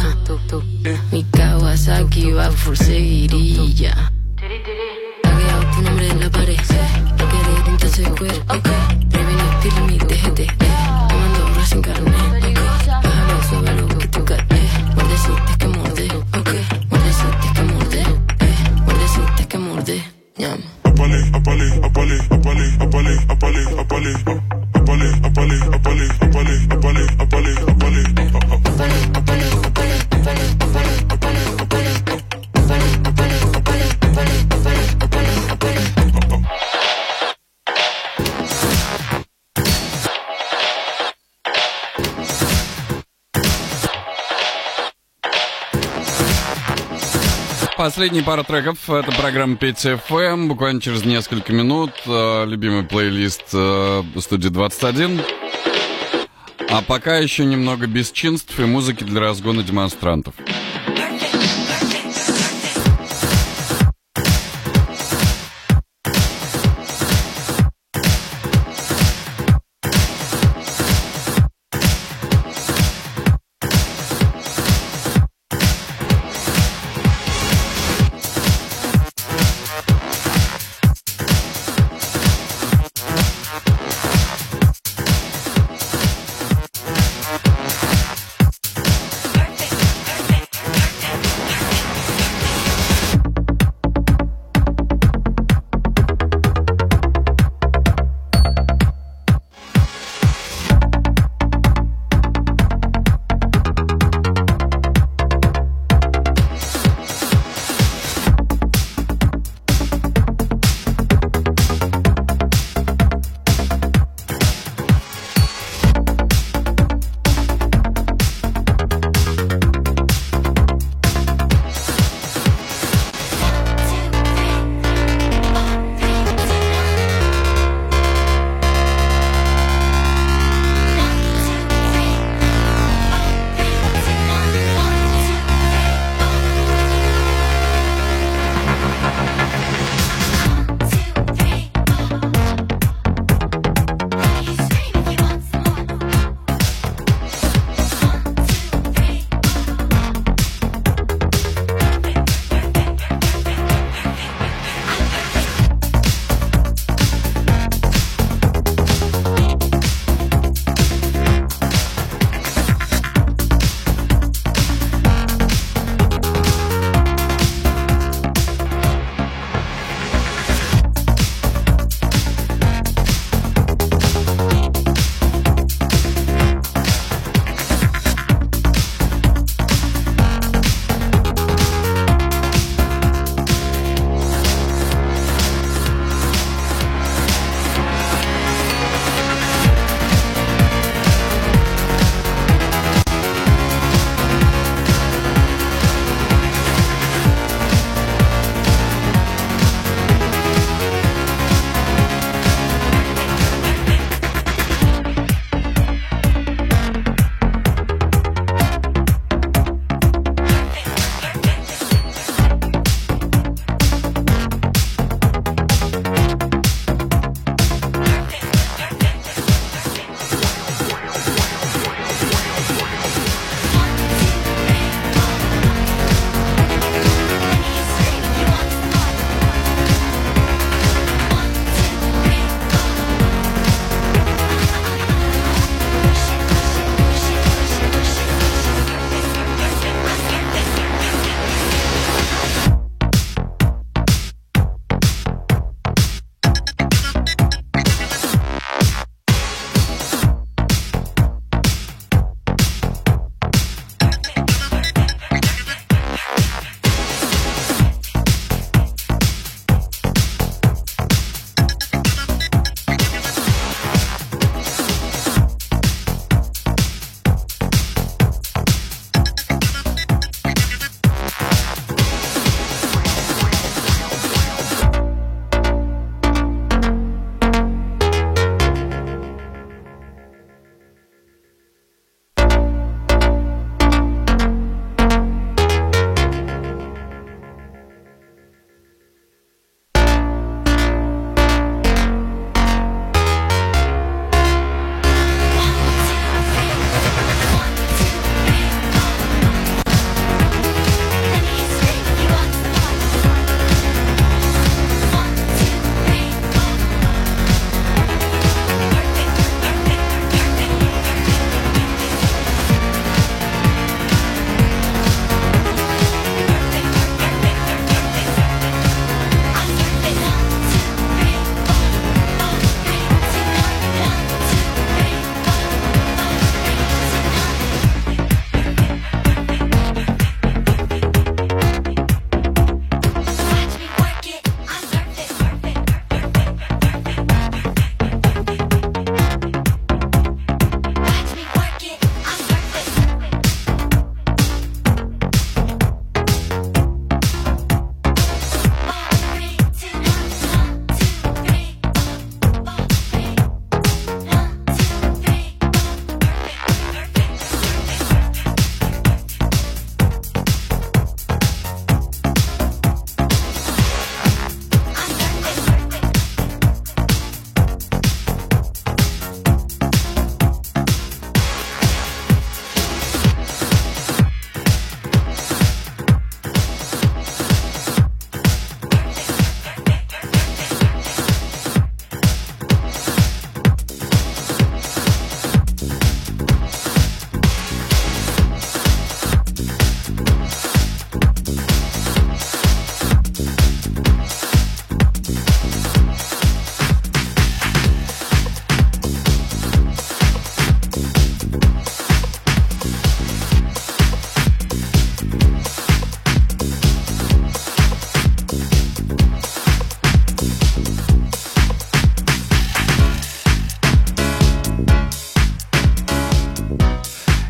Mi Kawasaki va por seguirilla. Tagueado tu nombre en la pared. No querés entonces queer, ok. Prevení, pilmi, déjate. Tomando horas sin carnet, ok. Bájalo, súbelo, que tú caes. Muerdecitas que morder, ok. Muerdecitas que morder, eh. Muerdecitas que morder, ñam. Apale, apale, apale, apale, apale, apale, apale, apale, apale, apale, apale, apale, apale, Последние пара треков — это программа Петя эф эм. Буквально через несколько минут э, любимый плейлист э, студии двадцать один. А пока еще немного бесчинств и музыки для разгона демонстрантов.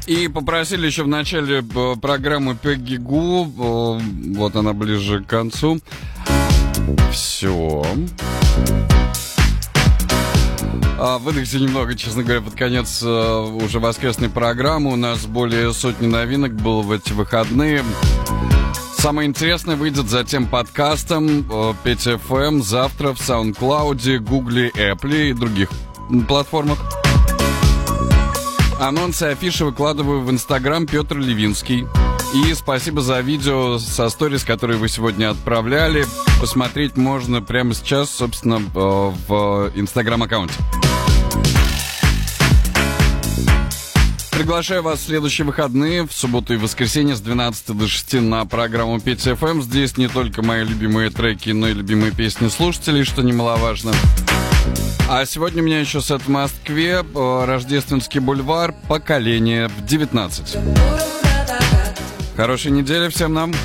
И попросили еще в начале программы Пегги Гу. Вот она ближе к концу. Все. Выдохся немного, честно говоря, под конец уже воскресной программы. У нас более сотни новинок было в эти выходные. Самое интересное выйдет затем подкастом пять эф эм завтра в SoundCloud, Google, Apple и других платформах. Анонсы и афиши выкладываю в Инстаграм Петр Левинский. И спасибо за видео со сторис, которые вы сегодня отправляли. Посмотреть можно прямо сейчас, собственно, в Инстаграм-аккаунте. Приглашаю вас в следующие выходные, в субботу и воскресенье с двенадцати до шести на программу пять эф эм. Здесь не только мои любимые треки, но и любимые песни слушателей, что немаловажно. А сегодня у меня еще сет в Москве, Рождественский бульвар, поколение в девятнадцать. Хорошей недели всем нам!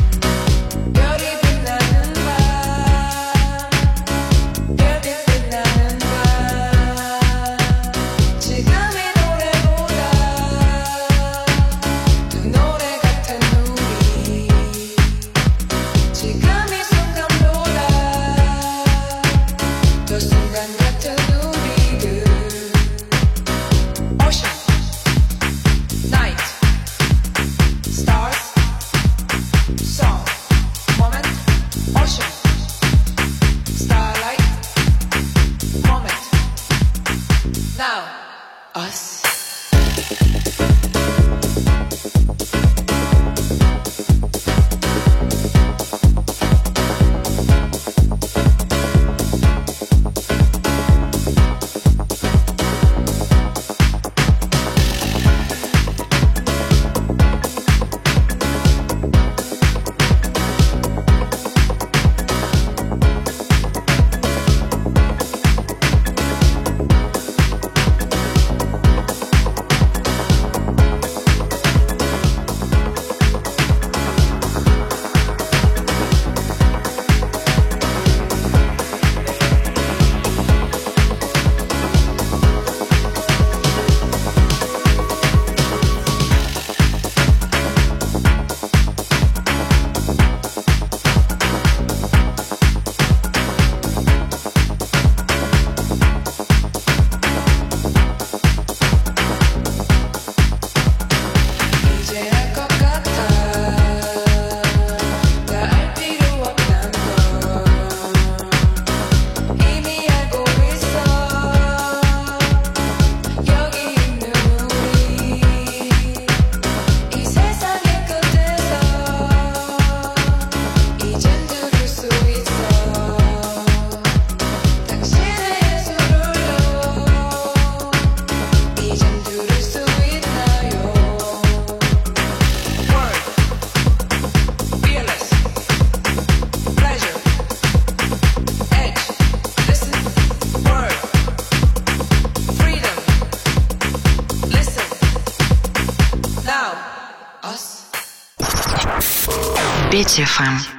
пять эф эм.